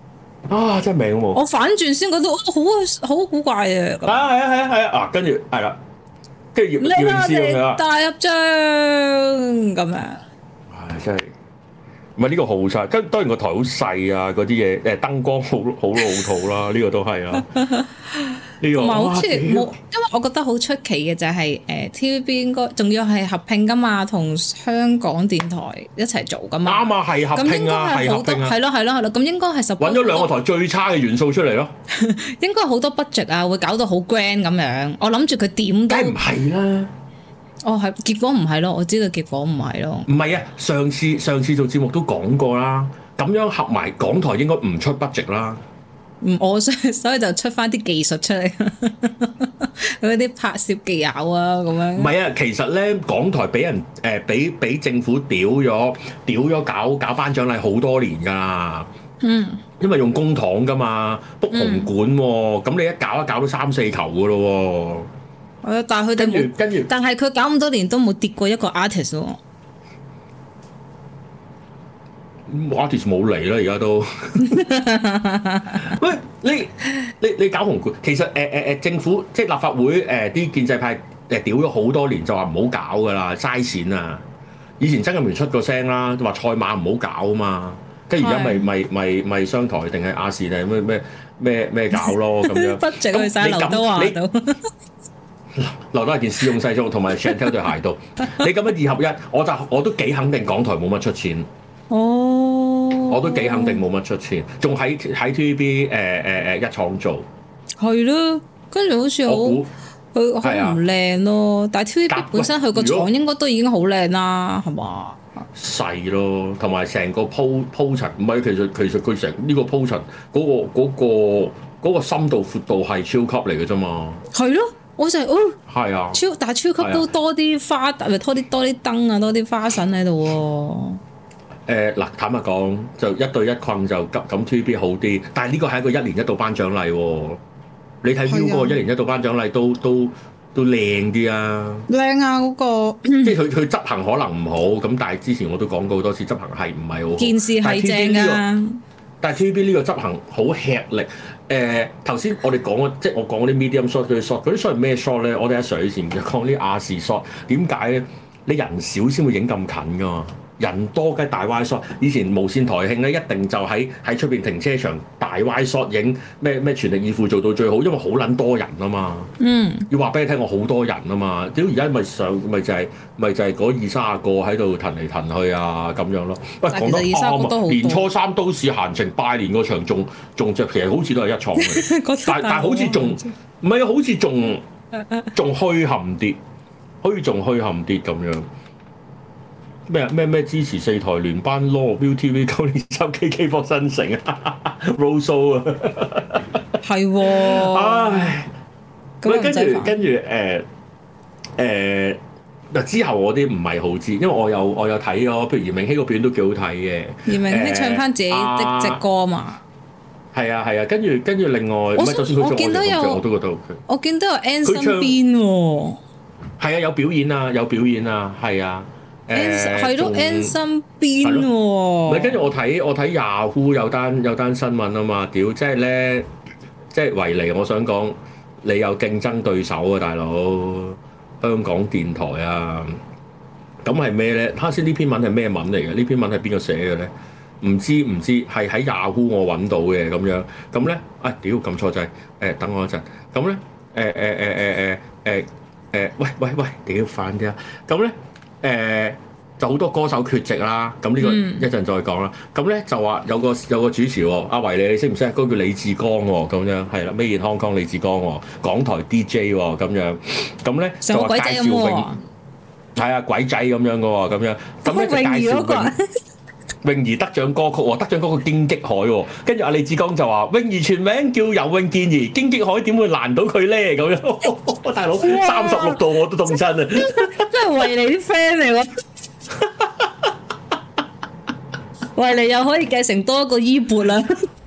啊，真係名喎！ 我反轉先覺得，哦，好好古怪啊！ 啊，係啊，係啊，係啊，啊，跟住係啦，跟住葉葉詠詩咁樣大入張咁樣。 唉，真係唔係呢個好細，跟當然個台好細啊，嗰啲嘢誒燈光好好老土啦，呢個都係啊。呢個唔係好似冇，因為我覺得好出奇嘅就係誒 T V B 應該仲要係合併噶嘛，同香港電台一齊做噶嘛。 啱啊，係合併啊，係合併啊，係咯係咯係咯，咁應該係揾咗兩個台最差嘅元素出嚟咯。 應該好多 budget 啊，會搞到好 grand 咁樣。我諗住佢點都梗係唔係啦。 哦，係結果唔係咯，我知道結果唔係咯。 唔係啊，上次上次做節目都講過啦，咁樣合埋港台應該唔出 budget 啦。 唔，我所以所以就出翻啲技術出嚟，嗰啲拍攝技巧啊，咁樣。唔係啊，其實咧港台俾人誒俾俾政府屌咗，屌咗搞搞頒獎禮好多年㗎啦。嗯。因為用公帑㗎嘛，book 紅館喎，咁、嗯、你一搞一搞都三四球㗎咯喎。係啊，但係佢哋冇，跟住，但係佢搞咁多年都冇跌過一個 artist 喎。artist 冇嚟啦，而家都。喂，你你你搞紅館，其實誒誒誒政府即係立法會誒啲、呃、建制派誒屌咗好多年，就話唔好搞噶啦，嘥錢啊！以前曾蔭權出過聲啦，話賽馬唔好搞啊嘛，跟住而家咪咪咪咪商台定係亞視定係咩咩咩咩搞咯咁樣。不值去晒劉德華度。劉德華件絲絨西裝同埋 Chantel 對鞋度，你咁樣二合一，我就我都幾肯定港台冇乜出錢。哦，我都幾肯定冇乜出錢，仲喺喺 T V B 誒誒誒一廠做，係咯，跟住好似好佢好唔靚咯，但係 T V B 本身佢個廠應該都已經好靚啦，係嘛？細咯，同埋成個鋪鋪陳，唔係其實其實佢成呢個鋪陳嗰個嗰個嗰個深度闊度係超級嚟嘅啫嘛，係咯。我就係哦，係啊，超但係超級都多啲花，咪多啲多啲燈啊，多啲花神喺度喎。誒嗱、呃，坦白講，就一對一困就咁咁 T V B 好啲，但係呢個係一個一年一度頒獎禮喎。你睇 U 嗰個一年一度頒獎禮都都都靚啲啊！靚啊嗰、嗰個，即係佢佢執行可能唔好，咁但係之前我都講過好多次，執行係唔係好好。件事係正啊！但係 T V B 呢個執行好吃力。誒頭先我哋講即係我講嗰啲 medium shot 嗰啲 shot，嗰啲 shot 係咩 shot 咧？我哋喺水前就講啲亞視 shot，點解咧？你人少先會影咁近噶嘛？人多梗係大 wide shot。以前無線台慶咧，一定就喺喺出邊停車場大 wide shot 影咩咩全力以赴做到最好，因為好撚多人啊嘛。嗯。要話俾你聽，我好多人啊嘛。屌而家咪上咪就係、是、咪就係嗰二卅個喺度騰嚟騰去啊咁樣咯。喂，講得啱啊！年初三都市閒情拜年嗰場仲仲著，其實好似都係一廠嘅，但但好似仲唔係啊？好似仲仲虛冚啲，好似仲虛冚啲咁樣。咩咩咩支持四台聯班咯 ，ViuTV 九年三 K K 博新城啊 ，Roso 啊，係喎，唉，咁跟住跟住誒誒嗱之後我啲唔係好知，因為我有我有睇咗，譬如嚴明熙個片都幾好睇嘅，嚴明熙唱翻自己的隻歌嘛，係啊係啊，跟住跟住另外，唔係就算佢做我做我都覺得 OK，我見到有 N 身邊喎，係啊有表演啊有表演啊係啊。誒係咯 N 身邊喎，唔係跟住我睇我睇 Yahoo 有單有單新聞啊嘛，屌即係咧，即係維尼，我想講你有競爭對手啊，大佬香港電台啊，咁係咩咧？啱先呢篇文係咩文嚟嘅？呢篇文係邊個寫嘅咧？唔知唔知，係喺 Yahoo 我揾到嘅咁樣，咁咧啊屌撳錯掣，誒等我一陣，咁咧誒誒誒誒誒誒誒喂喂喂屌快啲啊，咁咧。誒、呃、就好多歌手缺席啦，咁呢個一陣再講啦。咁咧、嗯、就話有個有個主持喎，阿維你你識唔識？嗰、那個叫李志剛喎，咁樣係啦，Made in Hong Kong李志剛喎，港台 D J 喎，咁樣咁咧就話介紹泳，係啊鬼仔咁樣嘅喎，咁樣咁咧就介紹泳兒得獎歌曲喎，得獎歌曲荊棘海喎，跟住阿李志剛就話泳兒全名叫游泳健兒，荊棘海點會難到佢咧？咁樣，大佬三十六度我都凍親啊！真係維尼啲 friend 嚟喎，維尼又可以繼承多一個衣缽啦。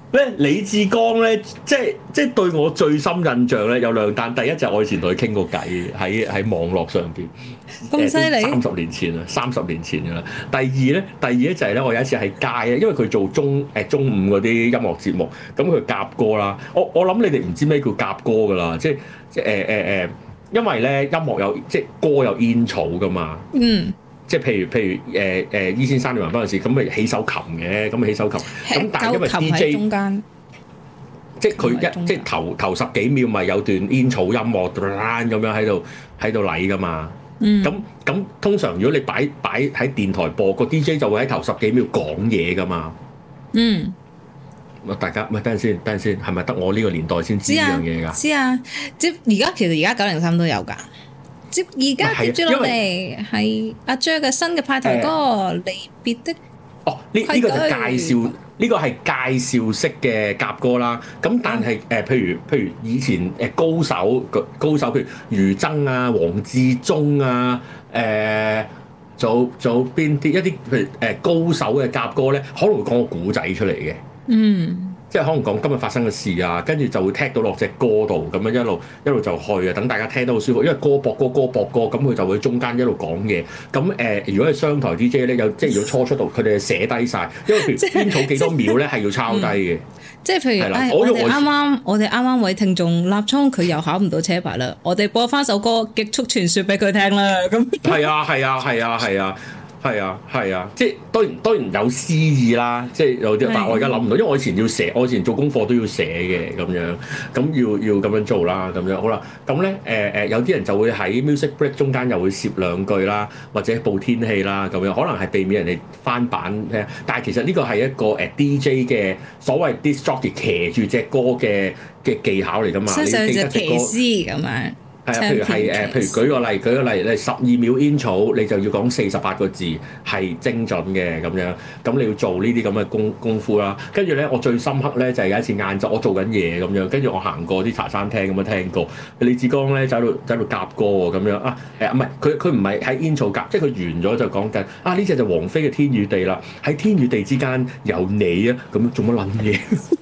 咧李志剛咧，即係即係對我最深印象咧有兩單，第一就係我以前同佢傾過偈喺喺網絡上邊， 咁犀利， 三十年前啊，三十年前噶啦。第二咧，第二咧就係咧，我有一次喺街啊，因為佢做中誒中午嗰啲音樂節目，咁佢夾歌啦。我我諗你哋唔知咩叫夾歌噶啦，即係即係誒誒誒，因為咧音樂有即係歌有煙草噶嘛。嗯。即係譬如譬如誒誒伊先生你話嗰陣時，咁咪起手琴嘅，咁咪起手琴。咁但係因為 D J 中間，即係佢一即係頭頭十幾秒咪有段煙草音樂咁樣喺度喺度嚟㗎嘛。咁咁、嗯、通常如果你擺擺喺電台播，個 D J 就會喺頭十幾秒講嘢㗎嘛。嗯。大家咪等陣先，等陣先，係咪得我呢個年代先知呢樣嘢㗎？知啊，即而家其實而家九零三都有㗎。接而家接住落嚟係阿 Jer 嘅新嘅派台歌《離別的》。哦，呢呢個就介紹，呢、呢個係介紹式嘅夾歌啦。咁但係誒、呃，譬如譬如以前誒高手高手，譬如余爭啊、黃志忠啊，誒、呃，做做邊啲一啲譬如誒高手嘅夾歌咧，可能會講個古仔出嚟嘅。嗯。即係可能講今日發生嘅事啊，跟住就會踢到落隻歌度，咁樣一路一路就去啊，等大家聽得好舒服。因為歌播歌歌播歌，咁佢就會中間一路講嘢。咁誒、呃，如果係商台 D J 咧，有即係如果初出道，佢哋寫低晒，因為譬如煙草幾多秒咧係要抄低嘅。即係譬如，哎、我哋啱啱我哋啱啱位聽眾立聰佢又考唔到車牌啦，我哋播翻首歌《極速傳說》俾佢聽啦。咁係啊係啊係啊係啊。係啊，係啊，即係當然當然有詩意啦，即係有啲，但係我而家諗唔到，因為我以前要寫，我以前做功課都要寫嘅咁樣，咁要要咁樣做啦，咁樣好啦，咁咧誒誒有啲人就會喺 music break 中間又會攝兩句啦，或者報天氣啦咁樣，可能係避免人哋翻版聽，但係其實呢個係一個誒 D J 嘅所謂 disc jockey 騎住隻歌嘅嘅技巧嚟㗎嘛，你記得隻歌騎師咁樣。係啊，譬如係誒，譬如舉個例，舉個例，你十二秒煙草，你就要講四十八個字，係精準嘅咁樣。咁你要做呢啲咁嘅功功夫啦。跟住咧，我最深刻咧就係有一次晏晝，我做緊嘢咁樣，跟住我行過啲茶餐廳咁樣聽過李志剛咧，就喺度喺度夾歌喎咁樣啊誒，唔係佢佢唔係喺煙草夾，即係佢完咗就講緊啊呢隻就王菲嘅天與地啦，喺天與地之間有你啊，咁樣做乜撚嘢？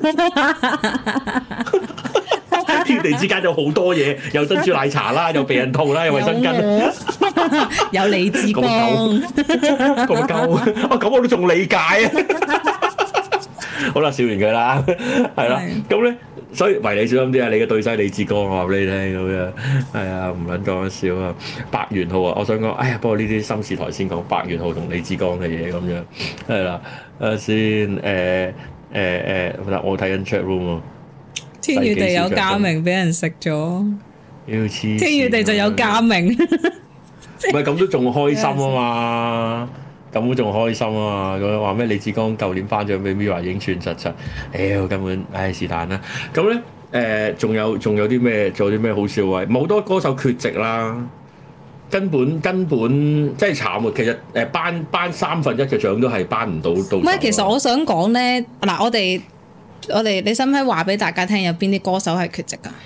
天地之間有好多嘢，有珍珠奶茶啦，有避孕套啦，有衛生巾，有李志剛，咁鳩，啊咁我都仲理解啊！好啦，笑完佢啦，係啦，咁咧，所以為你小心啲啊！你嘅對手李志剛，我話俾你聽咁樣，係啊，唔撚講笑啊！白元浩啊，我想講，哎呀，不過呢啲心事台先講白元浩同李志剛嘅嘢咁樣，係啦，誒先，誒誒誒，嗱，我睇緊 chat room 啊。天與地有嘉明俾人食咗，天與地就有嘉明，唔係咁都仲開心啊嘛，咁都仲開心啊嘛，咁樣話咩李志剛舊年頒獎俾 Mirror 影串實實，屌根本唉是但啦，咁咧誒仲有仲有啲咩做啲咩好笑啊？好多歌手缺席啦，根本根本真係慘啊！其實誒頒頒三分一嘅獎都係頒唔到到。唔係，其實我想講咧，嗱我哋。我哋你使唔使話俾大家聽有邊啲歌手係缺席㗎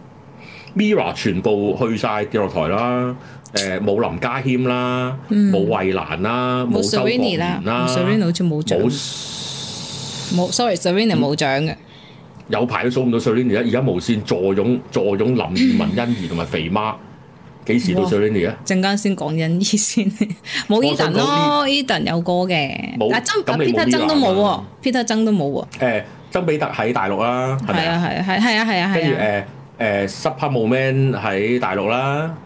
？Mirror 全部去晒跌落台啦，誒冇林家謙啦，冇衛蘭啦，冇周國賢啦 Serrini 好似冇獎，冇 sorry，Serrini 冇獎嘅，有排都數唔到 Serrini 而家無線坐擁坐擁林二汶、欣宜同埋肥媽，幾時到 Serrini 啊？陣間先講欣宜先，冇 Eden 咯 ，Eden 有歌嘅，但係曾 Peter 曾都冇喎 ，Peter 曾都冇喎，誒。曾比特喺大陸啦，係咪啊？係啊，係係啊，係啊，跟住誒誒 Super Moment 喺大陸啦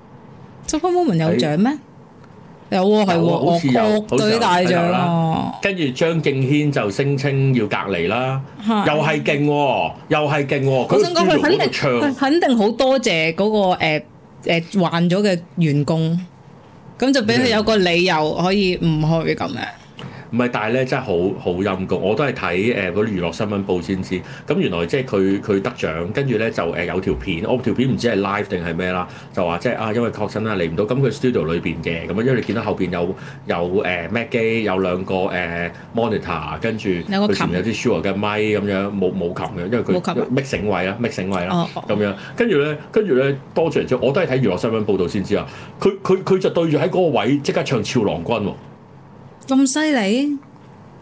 ，Super Moment 有獎咩？有喎，係喎，好似有樂隊大獎啊！跟住張敬軒就聲稱要隔離啦，又係勁喎，又係勁喎。我想講佢肯定佢肯定好多謝嗰個誒誒患咗嘅員工，咁就俾佢有個理由可以唔去咁樣。唔係，但係咧真係好好陰功，我都係睇誒嗰啲娛樂新聞報先知。咁原來即係佢佢得獎，跟住咧就誒有條片，我條片唔知係 live 定係咩啦，就話即係啊，因為確診啊嚟唔到，咁佢 studio 裏邊嘅，咁樣因為你見到後邊有有誒 Mac 機，有兩個誒 monitor，跟住佢前面有啲 Shure 嘅咪咁樣，冇冇琴嘅，因為佢 mixing 位啦，mixing 位啦，咁樣跟住咧，跟住咧多謝之後，我都係睇娛樂新聞報導先知啊。佢佢佢就對住喺嗰個位即刻唱《俏郎君》喎。咁犀利？唔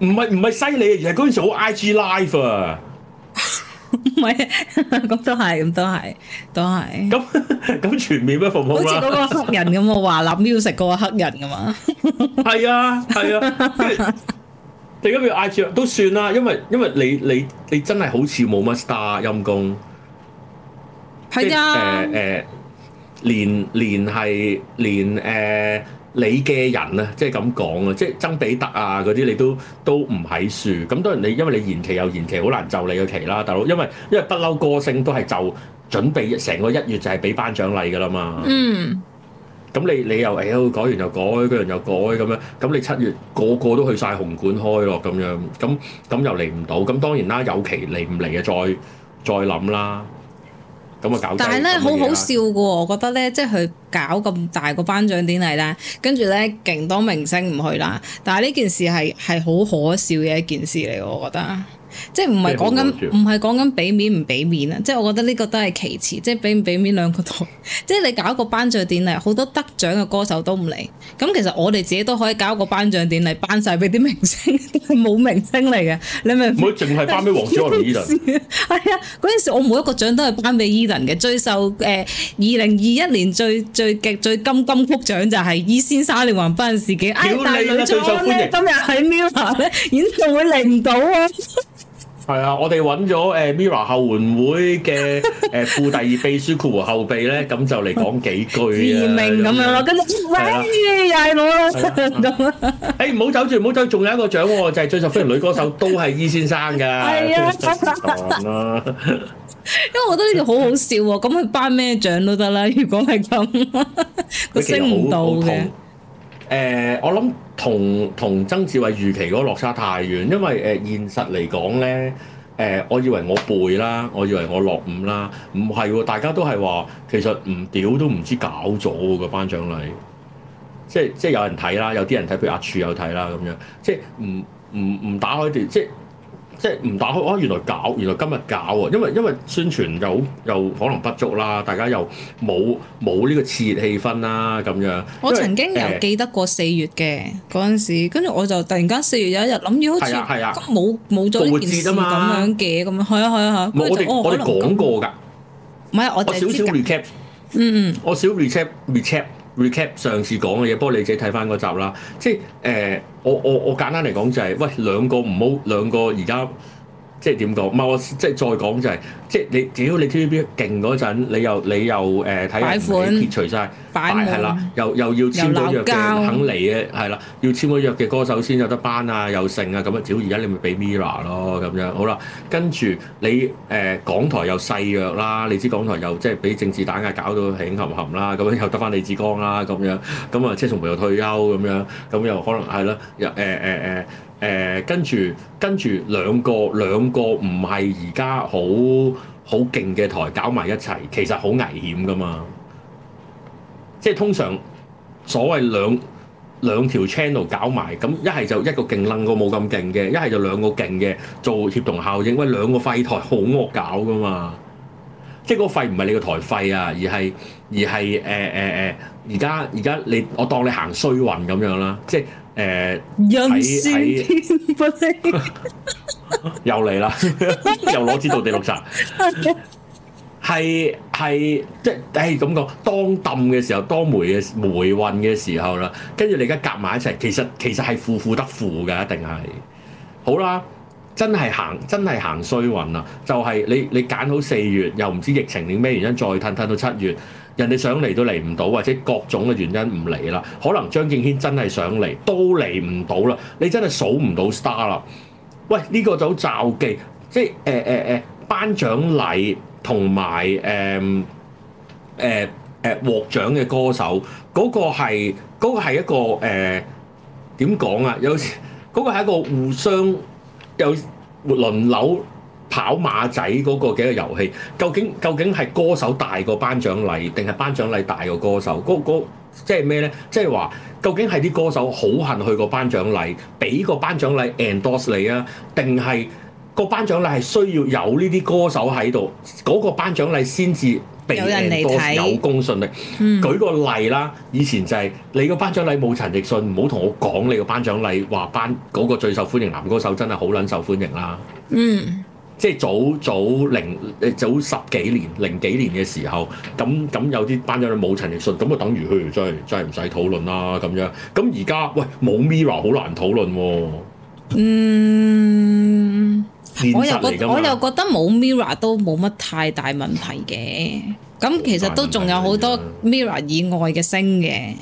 唔係唔係犀利，而係嗰陣時好 I G Live 啊。 唔係，咁都係，咁都係，都係。 咁咁全面咩服務啦？好似嗰個黑人咁啊，華納 music 嗰個黑人噶嘛。 係啊，係啊。你而家要 I G 都算啦，因為因為你你你真係好似冇乜 star 陰功。係啊。誒誒，連連係連誒。你嘅人啊，即係咁講啊，即係曾比特啊嗰啲，你都都唔喺樹。咁當然你因為你延期又延期，好難就你嘅期啦，大佬。因為因為不嬲歌星都係就準備成個一月就係俾頒獎禮㗎啦嘛。嗯。咁你你又誒改完又改，嗰樣又改咁樣，咁你七月個個都去晒紅館開咯，咁樣，咁咁又嚟唔到。咁當然啦，有期嚟唔嚟啊？再再諗啦。咁啊搞！但係咧好好笑嘅喎，我覺得咧，即係佢搞咁大個頒獎典禮咧，跟住咧勁多明星唔去啦。但係呢件事係係好可笑嘅一件事嚟，我覺得。即係唔係講緊唔係講緊俾面唔俾面啊！即係我覺得呢個都係其次，即係俾唔俾面兩個都。即係你搞一個頒獎典禮，好多得獎嘅歌手都唔嚟。咁其實我哋自己都可以搞一個頒獎典禮，頒晒俾啲明星，冇明星嚟嘅。你明唔明？唔會淨係頒俾黃子華同 Edan。係啊，嗰陣時我每一個獎都係頒俾 Edan 嘅。最受誒二零二一年最最極最金金曲獎就係伊先生連環不幸事件。哎，但係女最受歡迎今日喺 Mirror 咧演唱會嚟唔到啊！係啊，我哋揾咗誒 Mirror 後援會嘅誒副第二秘書括弧後備咧，咁就嚟講幾句啊，自命咁樣咯，跟住喂又係我啦咁啊！誒唔好走住，唔好走，仲有一個獎喎，就係最受歡迎女歌手都係伊先生㗎。係啊，因為我覺得呢條好好笑喎，咁佢頒咩獎都得啦。如果係咁，佢升唔到嘅。誒、呃，我諗同同曾志偉預期嗰個落差太遠，因為誒、呃、現實嚟講咧，誒、呃，我以為我背啦，我以為我落伍啦，唔係喎，大家都係話其實唔屌都唔知搞咗個頒獎禮，即係即係有人睇啦，有啲人睇，譬如阿柱有睇啦咁樣，即係唔唔唔打開啲即係。即係唔打開，哦，原來搞，原來今日搞啊！因為因為宣傳又又可能不足啦，大家又冇冇呢個熾熱氣氛啦咁樣。我曾經有記得過四月嘅嗰陣時，跟住我就突然間四月有一日諗住好似冇冇咗呢件事咁樣嘅咁樣，係啊係啊係。我哋我哋講過㗎，唔係我少少 recap，嗯嗯，我少 recap recap recap 上次講嘅嘢，不過你自己睇翻嗰集啦，即係誒。呃我我我簡單嚟講就係、是，喂兩個唔好兩個而家即係點講？唔係我即係再講就係、是，即係你只要你 T V B 勁嗰陣，你又你又誒睇人撇除晒，係啦，又又要簽咗約嘅肯嚟嘅係啦，要簽咗約嘅歌手先有得頒啊，又剩啊咁樣。只要而家你咪俾 Mirror 咯咁樣，好啦，跟住你誒、呃、港台又細約啦，你知港台又即係俾政治打壓搞到興冚冚啦，咁樣又得翻李志剛啦咁樣，咁啊車淑梅又退休咁樣，咁又可能係啦，又誒誒誒誒跟住跟住兩個兩個唔係而家好好勁嘅台搞埋一齊，其實好危險噶嘛。即係通常所謂兩兩條 channel 搞埋，咁一係就一個勁撚過冇咁勁嘅，一係就兩個勁嘅做協同效應。喂，兩個廢台好惡搞噶嘛！即係嗰個廢唔係你個台廢啊，而係而係誒誒誒，而家而家你我當你行衰運咁樣啦，即係誒喺喺又嚟啦，又攞支道地綠茶。係係即係誒咁講，當冧嘅時候，當霉嘅霉運嘅時候啦，跟住你而家夾埋一齊，其實其實係負負得負嘅，一定係好啦。真係行真係行衰運啦，就係、是、你你揀好四月，又唔知疫情定咩原因，再褪褪到七月，人哋想嚟都嚟唔到，或者各種嘅原因唔嚟啦。可能張敬軒真係想嚟，都嚟唔到啦。你真係數唔到 star 啦。喂，呢、這個就好罩忌，即係誒誒誒頒獎禮。同埋誒誒誒獲獎嘅歌手，嗰、那個係嗰、那個係一個誒點講啊？有時嗰個係一個互相有輪流跑馬仔嗰個嘅一個遊戲。究竟究竟係歌手大過頒獎禮，定係頒獎禮大過歌手？嗰、那個即係咩咧？即係話究竟係啲歌手好恨去個頒獎禮，俾個頒獎禮 endorse 你啊？定係？個頒獎禮係需要有呢啲歌手喺度，嗰、那個頒獎禮先至被有人嚟睇， 有公信力。嗯、舉個例啦，以前就係你個頒獎禮冇陳奕迅，唔好同我講你個頒獎禮話頒嗰個最受歡迎男歌手真係好撚受歡迎啦。嗯，即係早早零誒早十幾年零幾年嘅時候，咁咁有啲頒獎禮冇陳奕迅，咁就等於佢真係真係唔使討論啦咁樣。咁而家喂冇 Mirror 好難討論喎。 嗯。我又覺我又覺得冇 Mirror 都冇乜太大問題嘅，咁其實都仲有好多 Mirror 以外嘅星嘅，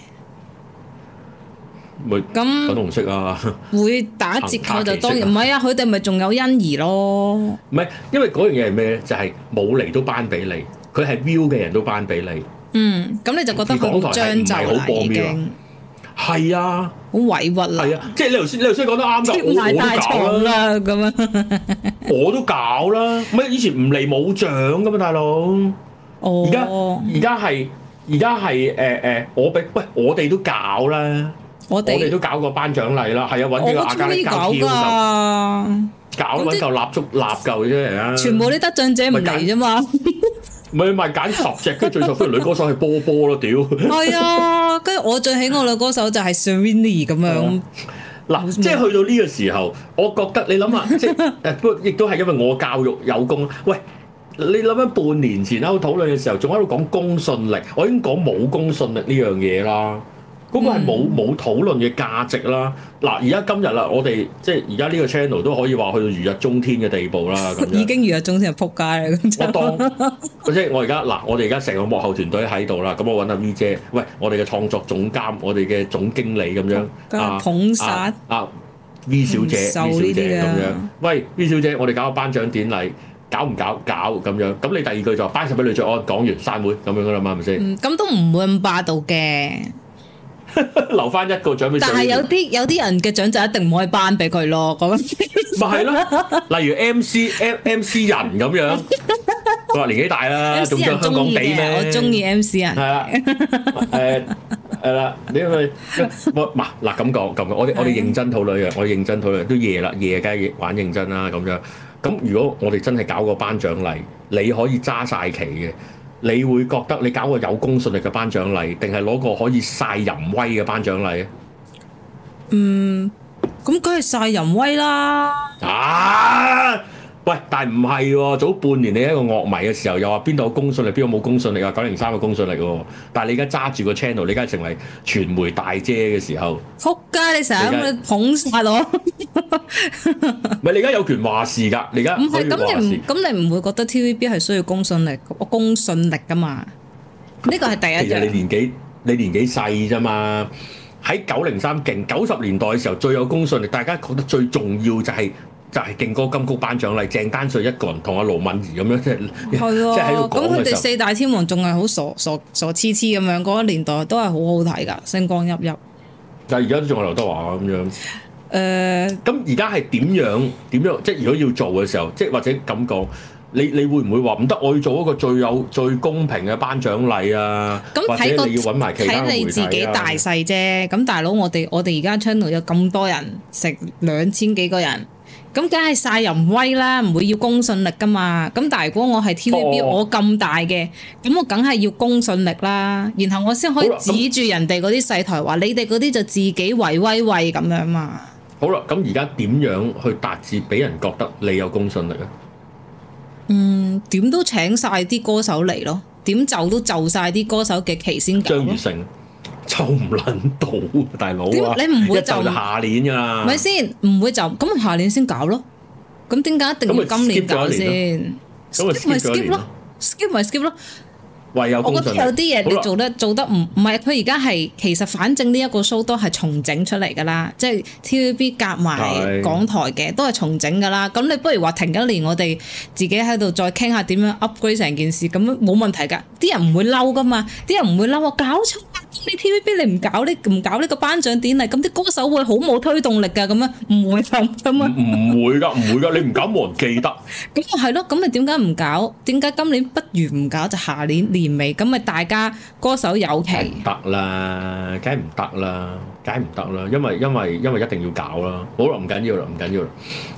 咁粉紅色啊， 會打折扣就當然唔係啊，佢哋咪仲有欣宜咯，唔係因為嗰樣嘢係咩咧？就係冇嚟都頒俾你，佢係 view 嘅人都頒俾你，嗯，咁你就覺得佢好將就啦已經。係啊，好委屈啦！係啊，即係你頭先，你頭先講得啱㗎，我我都搞啦咁樣，我都搞啦。唔係以前唔嚟冇獎㗎嘛，大佬。哦。而家而家係而家係誒誒，我俾喂我哋都搞啦，我哋都搞個頒獎禮啦，係啊，揾幾個阿加力膠條就搞揾嚿蠟燭蠟嚿啫嚟啊！全部啲得獎者唔嚟啫嘛。唔係咪揀十隻，跟住最受歡迎女歌手係波波咯，屌！係啊，跟住我最喜愛女歌手就係 Serrini 咁樣。嗱，即係去到呢個時候，我覺得你諗下，即係誒，不過亦都係因為我教育有功。喂，你諗下半年前喺度討論嘅時候，仲喺度講公信力，我已經講冇公信力呢樣嘢啦。嗰個係冇冇討論嘅價值啦。嗱，而家今日啦，我哋即係而家呢個 channel 都可以話去到如日中天嘅地步啦。咁已經如日中天係撲街啦。咁我當即係我而家嗱，我哋而家成個幕後團隊喺度啦。咁我揾阿 V 姐，喂，我哋嘅創作總監，我哋嘅總經理咁樣啊，捧殺啊 V 小姐 V 小姐咁樣。喂 V 小姐，我哋搞個頒獎典禮，搞唔搞？搞咁樣。咁你第二句就頒實俾呂爵安，講完散會咁樣噶啦嘛，係咪先？咁都唔會咁霸道嘅。留翻一個獎俾，但係有啲有啲人嘅獎就一定唔可以頒俾佢咯，咁咪係咯。例如 M C M M C 人咁樣，佢話年紀大啦，仲想香港地咩？我中意 M C 人。係啦，誒係啦，你去我嗱嗱咁講咁，我哋我哋認真討論嘅，我哋認真討論都夜啦，夜梗係玩認真啦咁樣。咁如果我哋真係搞個頒獎禮，你可以揸晒旗嘅。你會覺得你搞個有公信力嘅頒獎禮，定係攞個可以晒淫威嘅頒獎禮啊？嗯，咁梗係晒淫威啦！啊，喂，但係唔係喎？早半年你一個樂迷嘅時候，又話邊度有公信力，邊個冇公信力啊？九零三嘅公信力喎，但係你而家揸住個 channel，你而家成為傳媒大姐嘅時候，仆街！你成日咁捧殺我，唔係你而家有權話事㗎，你而家唔係咁你唔咁你唔會覺得 T V B 係需要公信力，公信力㗎嘛？呢個係第一樣。其實你年紀你年紀細啫嘛，喺九零三勁九十年代嘅時候最有公信力，大家覺得最重要就係、是。就係勁歌金曲頒獎禮，鄭丹瑞一個人同阿盧敏儀咁樣，即係即係喺度講嘅時候。咁佢哋四大天王仲係好傻傻傻痴痴咁樣，嗰個年代都係好好睇㗎，星光熠熠。但係而家都仲係劉德華咁樣。誒、呃，咁而家係點樣點樣？即係如果要做嘅時候，即係或者咁講，你你會唔會話唔得？我要做一個最有最公平嘅頒獎禮啊！咁睇個睇你自己大細啫。咁大佬，我哋我哋而家 channel 有咁多人，成兩千幾個人。咁梗係晒淫威啦，唔會要公信力噶嘛。咁但係如果我係 T V B，、oh. 我咁大嘅，咁我梗係要公信力啦。然後我先可以指住人哋嗰啲細台話，你哋嗰啲就自己為威威咁樣嘛。好啦，咁而家點樣去達至俾人覺得你有公信力啊？嗯，點都請晒啲歌手嚟咯，點就都就晒啲歌手嘅期先搞。張雨生。就唔撚到，大佬啊！你唔會就就下年㗎啦，咪先唔會就咁下年先搞咯。咁點解一定要今年搞先？咁咪 skip 咯 ，skip 咪 skip 咯。唯有我覺得有啲嘢你做得做得唔唔係佢而家係其實反正呢一個 show 都係重整出嚟㗎啦，即係 T V B 夾埋港台嘅都係重整㗎啦。咁你不如話停一年，我哋自己喺度再傾下點樣 upgrade 成件事，咁樣冇問題㗎。啲人唔會嬲㗎嘛，啲人唔會嬲我搞錯。你 T V B 你唔搞呢唔搞呢個頒獎典禮，咁啲歌手會好冇推動力㗎，咁樣唔會咁咁啊？唔會㗎，唔會㗎，你唔搞冇人記得。咁啊係咯，咁你點解唔搞？點解今年不如唔搞就下年年尾？咁咪大家歌手有期。唔得啦，梗係唔得啦，梗係唔得啦，因為因為因為一定要搞啦。好啦，唔緊要啦，唔緊要啦。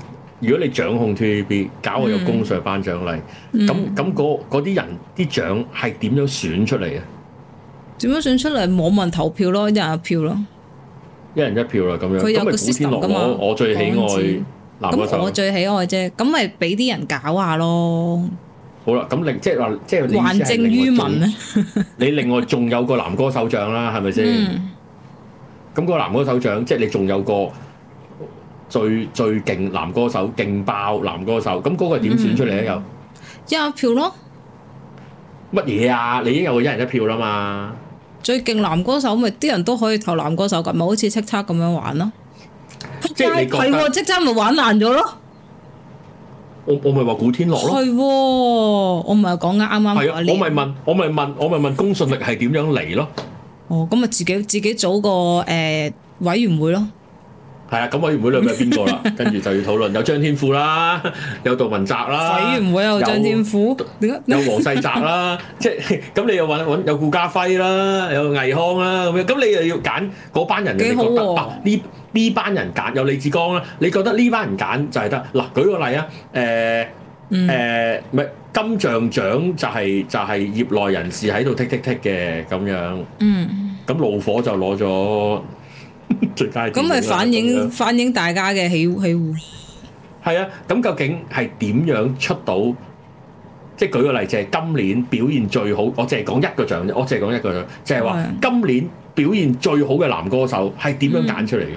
如果你掌控 T V B 搞個有公信頒獎禮，咁咁嗰啲人啲獎係點樣選出嚟啊？ 點樣選出嚟？網民投票咯，一人一票咯，一人一票啦咁樣。 佢有個 system 噶嘛？ 我我最喜愛男歌手， 咁我最喜愛啫，咁咪俾啲人搞下咯。好啦，咁另即係話，即係還政於民咧。 你另外仲有個男歌手獎啦，係咪先？咁個男歌手獎，即係你仲有個最最勁男歌手，勁爆男歌手，咁嗰個點選出嚟咧？又一人一票咯。 乜嘢啊？你已經有個一人一票啦嘛。 最勁男歌手咪啲人都可以投男歌手㗎，咪好似叱咤咁樣玩咯。 即係你覺得係叱咤咪玩爛咗咯。 我我咪話古天樂咯。 係喎，我唔係講啱啱嗰一年。 我咪問，我咪問，我咪問公信力係點樣嚟咯？ 哦，咁咪自己自己組個誒、呃、委員會咯。係啊，咁委員會裏面有邊個啦？跟住就要討論，有張天賦啦，有杜汶澤啦。 委員會有張天賦，點解有黃世澤啦？即係咁，你又揾揾有顧嘉輝啦，有倪匡啦，咁樣咁你又要揀嗰班人，你覺得啊？呢呢班人揀有李志剛啦，你覺得呢班人揀就係得嗱？舉個例啊，誒誒咪金像獎就係就係業內人士喺度剔剔剔嘅咁樣。 嗯， 咁怒火就攞咗最佳。 咁咪反映反映大家嘅喜喜惡。 係啊，咁究竟係點樣出到？即係舉個例，就係今年表現最好，我淨係講一個獎啫，我淨係講一個獎，就係話今年表現最好嘅男歌手係點樣揀出嚟嘅？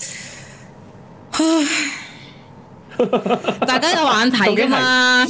唉，大家有眼睇㗎嘛？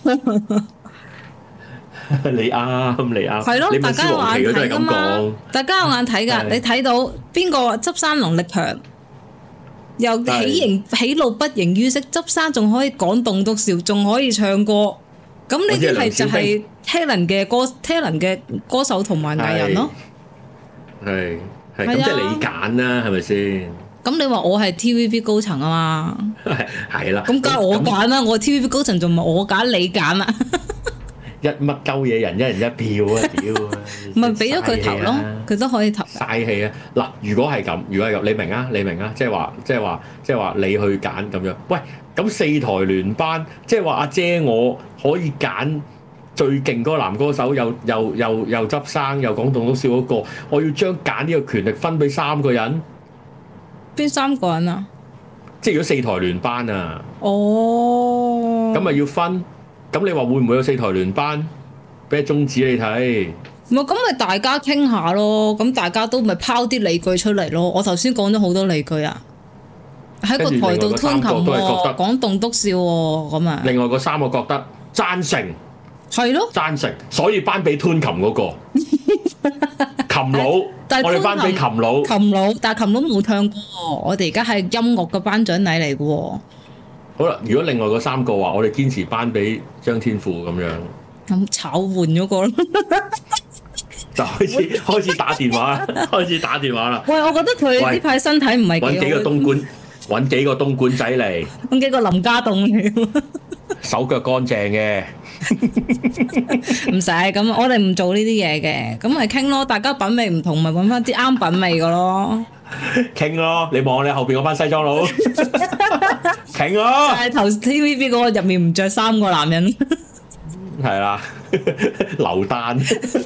你啱，你啱。 係咯，大家有眼睇㗎嘛？大家有眼睇㗎，你睇到邊個執生能力強，又喜形喜怒不形於色，執生仲可以講棟篤笑，仲可以唱歌。咁呢啲係就係 talent 嘅歌 talent 嘅歌手同埋藝人咯。 係係咁即係你揀啦，係咪先？咁你話我係 T V B 高層啊嘛？ 係係啦。 咁梗係我揀啦，我 T V B 高層仲唔係我揀你揀啊？ 一乜鳩嘢人一人一票啊！屌， 咪俾咗佢投咯，佢都可以投。 嘥氣啊！嗱，如果係咁，如果係咁，你明啊？你明啊？即係話，即係話，即係話，你去揀咁樣。喂，咁四台聯班，即係話阿姐我可以揀最勁嗰個男歌手，又又又又執生，又講棟篤笑嗰個，我要將揀呢個權力分俾三個人。 邊三個人啊？ 即係如果四台聯班啊？ 哦， 咁咪要分。咁你話會唔會有四台聯班俾宗旨你睇？ 唔係，咁咪大家傾下咯。咁大家都咪拋啲理據出嚟咯。我頭先講咗好多理據啊，喺個台度吞琴喎，講棟篤笑喎，咁啊。 另外嗰三個覺得贊成， 係咯， 贊成，所以頒俾吞琴嗰個琴佬，我哋頒俾琴佬， 琴佬，但係琴佬冇唱歌喎。我哋而家係音樂嘅頒獎禮嚟嘅喎。 好啦，如果另外嗰三個話，我哋堅持頒俾張天賦咁樣， 咁炒換咗個咯， 就開始開始打電話，開始打電話啦。 喂，我覺得佢呢排身體唔係幾好。 揾幾個東莞，揾幾個東莞仔嚟， 揾幾個林家棟嚟， 手腳乾淨嘅。 唔使咁，我哋唔做呢啲嘢嘅，咁咪傾咯。大家品味唔同，咪揾翻啲啱品味嘅咯。 傾咯，你望你後邊嗰班西裝佬，傾咯。 但係頭 T V B 嗰個入面唔着衫個男人， 係啦，劉丹。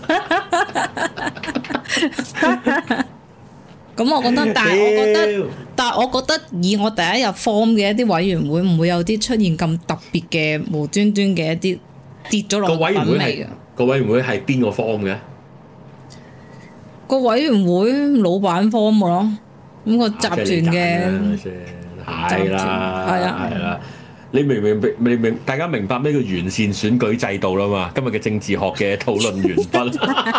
咁我覺得，但係我覺得，但係我覺得以我第一日 form 嘅一啲委員會，唔會有啲出現咁特別嘅無端端嘅一啲跌咗落品味嘅。 個委員會係邊個 form 嘅？個委員會老闆 form 嘅咯，咁個集團嘅係啦， 係啊， 係啦。你明明明明明大家明白咩叫完善選舉制度啦嘛？今日嘅政治學嘅討論完畢。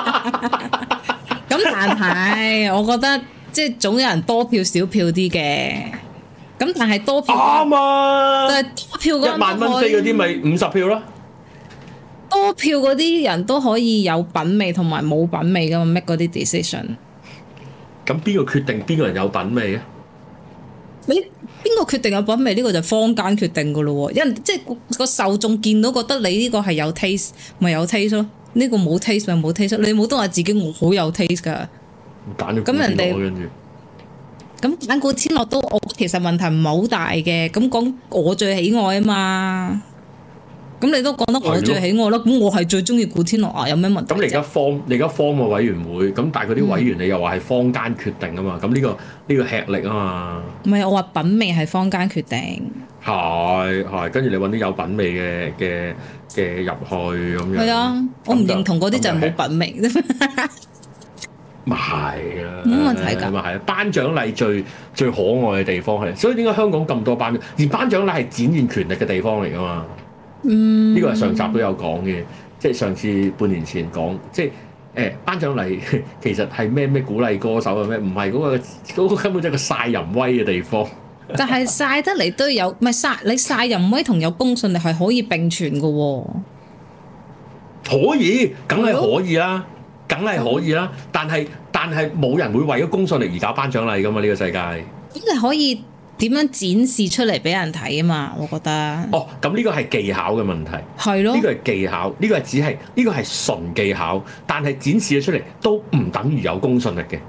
咁但係我覺得即係總有人多票少票啲嘅，咁但係多票啱啊！ 但係多票嗰一萬蚊飛嗰啲咪五十票咯。 多票嗰啲人都可以有品味同埋冇品味噶嘛，make 嗰啲 decision。 咁邊個決定邊個人有品味啊？ 你邊個決定有品味？呢個就坊間決定噶咯喎，因為即係個受眾見到覺得你呢個係有 taste，咪有 taste 咯。呢個冇 taste 咪冇 taste，你冇得話自己我好有 taste 噶。 揀咗咁人哋跟住咁揀古天樂都我其實問題唔係好大嘅，咁講我最喜愛啊嘛。咁你都講得我最喜愛咯，咁我係最中意古天樂啊，有咩問題？ 咁你而家 form 你而家 form 個委員會，咁但係嗰啲委員你又話係坊間決定啊嘛，咁呢個呢個吃力啊嘛。唔係， 我話品味係坊間決定。 係係，跟住你揾啲有品味嘅嘅嘅入去咁樣。係啊，我唔認同嗰啲就係冇品味啫。 咪係啦， 冇問題㗎。 咪係，頒獎禮最最可愛嘅地方係，所以點解香港咁多頒獎？而頒獎禮係展現權力嘅地方嚟㗎嘛。嗯，呢個係上集都有講嘅，即係上次半年前講，即係誒頒獎禮其實係咩咩鼓勵歌手啊咩？唔係嗰個嗰個根本就係個晒淫威嘅地方。 但係晒得嚟都有，唔係晒你晒淫威同有公信力係可以並存嘅喎。 可以，梗係可以啦，梗係可以啦。但係但係冇人會為咗公信力而搞頒獎禮㗎嘛？呢個世界咁你可以點樣展示出嚟俾人睇啊嘛？我覺得哦，咁呢個係技巧嘅問題， 係咯， 呢個係技巧，呢個係只係呢個係純技巧，但係展示咗出嚟都唔等於有公信力嘅。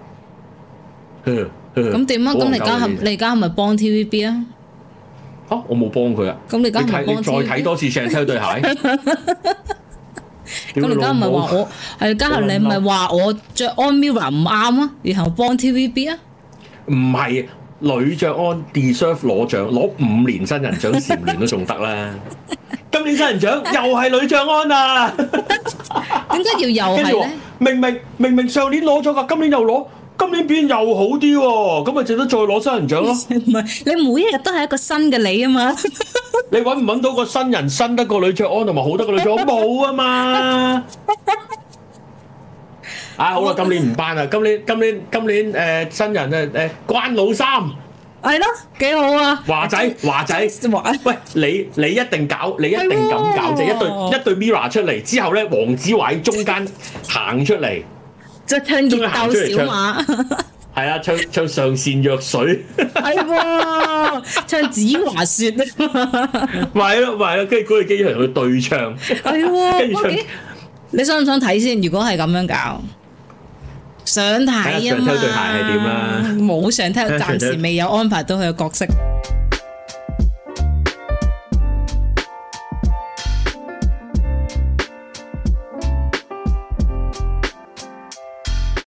咁點啊？咁你而家係你而家係咪幫 T V B 啊？ 嚇，我冇幫佢啊！ 咁你而家係你再睇多次 Chantel 對鞋。 咁你而家唔係話我係，家下你唔係話我着安 Mirror 唔啱啊？然後幫 T V B 啊？ 唔係。呂爵安 deserve 攞獎，攞五年新人獎蟬聯都仲得啦。今年新人獎又係呂爵安啊！ 點解要又係咧？ 明明明明上年攞咗㗎，今年又攞，今年表現又好啲喎，咁咪值得再攞新人獎咯？ 唔係，你每一日都係一個新嘅你啊嘛！ 你揾唔揾到個新人新得過呂爵安同埋好得過呂爵安冇啊嘛？啊好啦，今年唔頒啦，今年今年今年誒、呃、新人誒誒、呃、關老三， 係咯，幾好啊！ 華仔華仔，華喂你你一定搞，你一定咁搞啫，一對一對 Mirror 出嚟之後咧，黃子華喺中間行出嚟， 即係唱熱鬥小馬， 係啊，唱唱上善若水， 係喎，唱子華説啊， 咪咯咪咯，跟住嗰個機場去對唱， 係喎，跟住唱，你想唔想睇先？如果係咁樣搞？想睇啊嘛，冇想睇，暫時未有安排到佢嘅角色。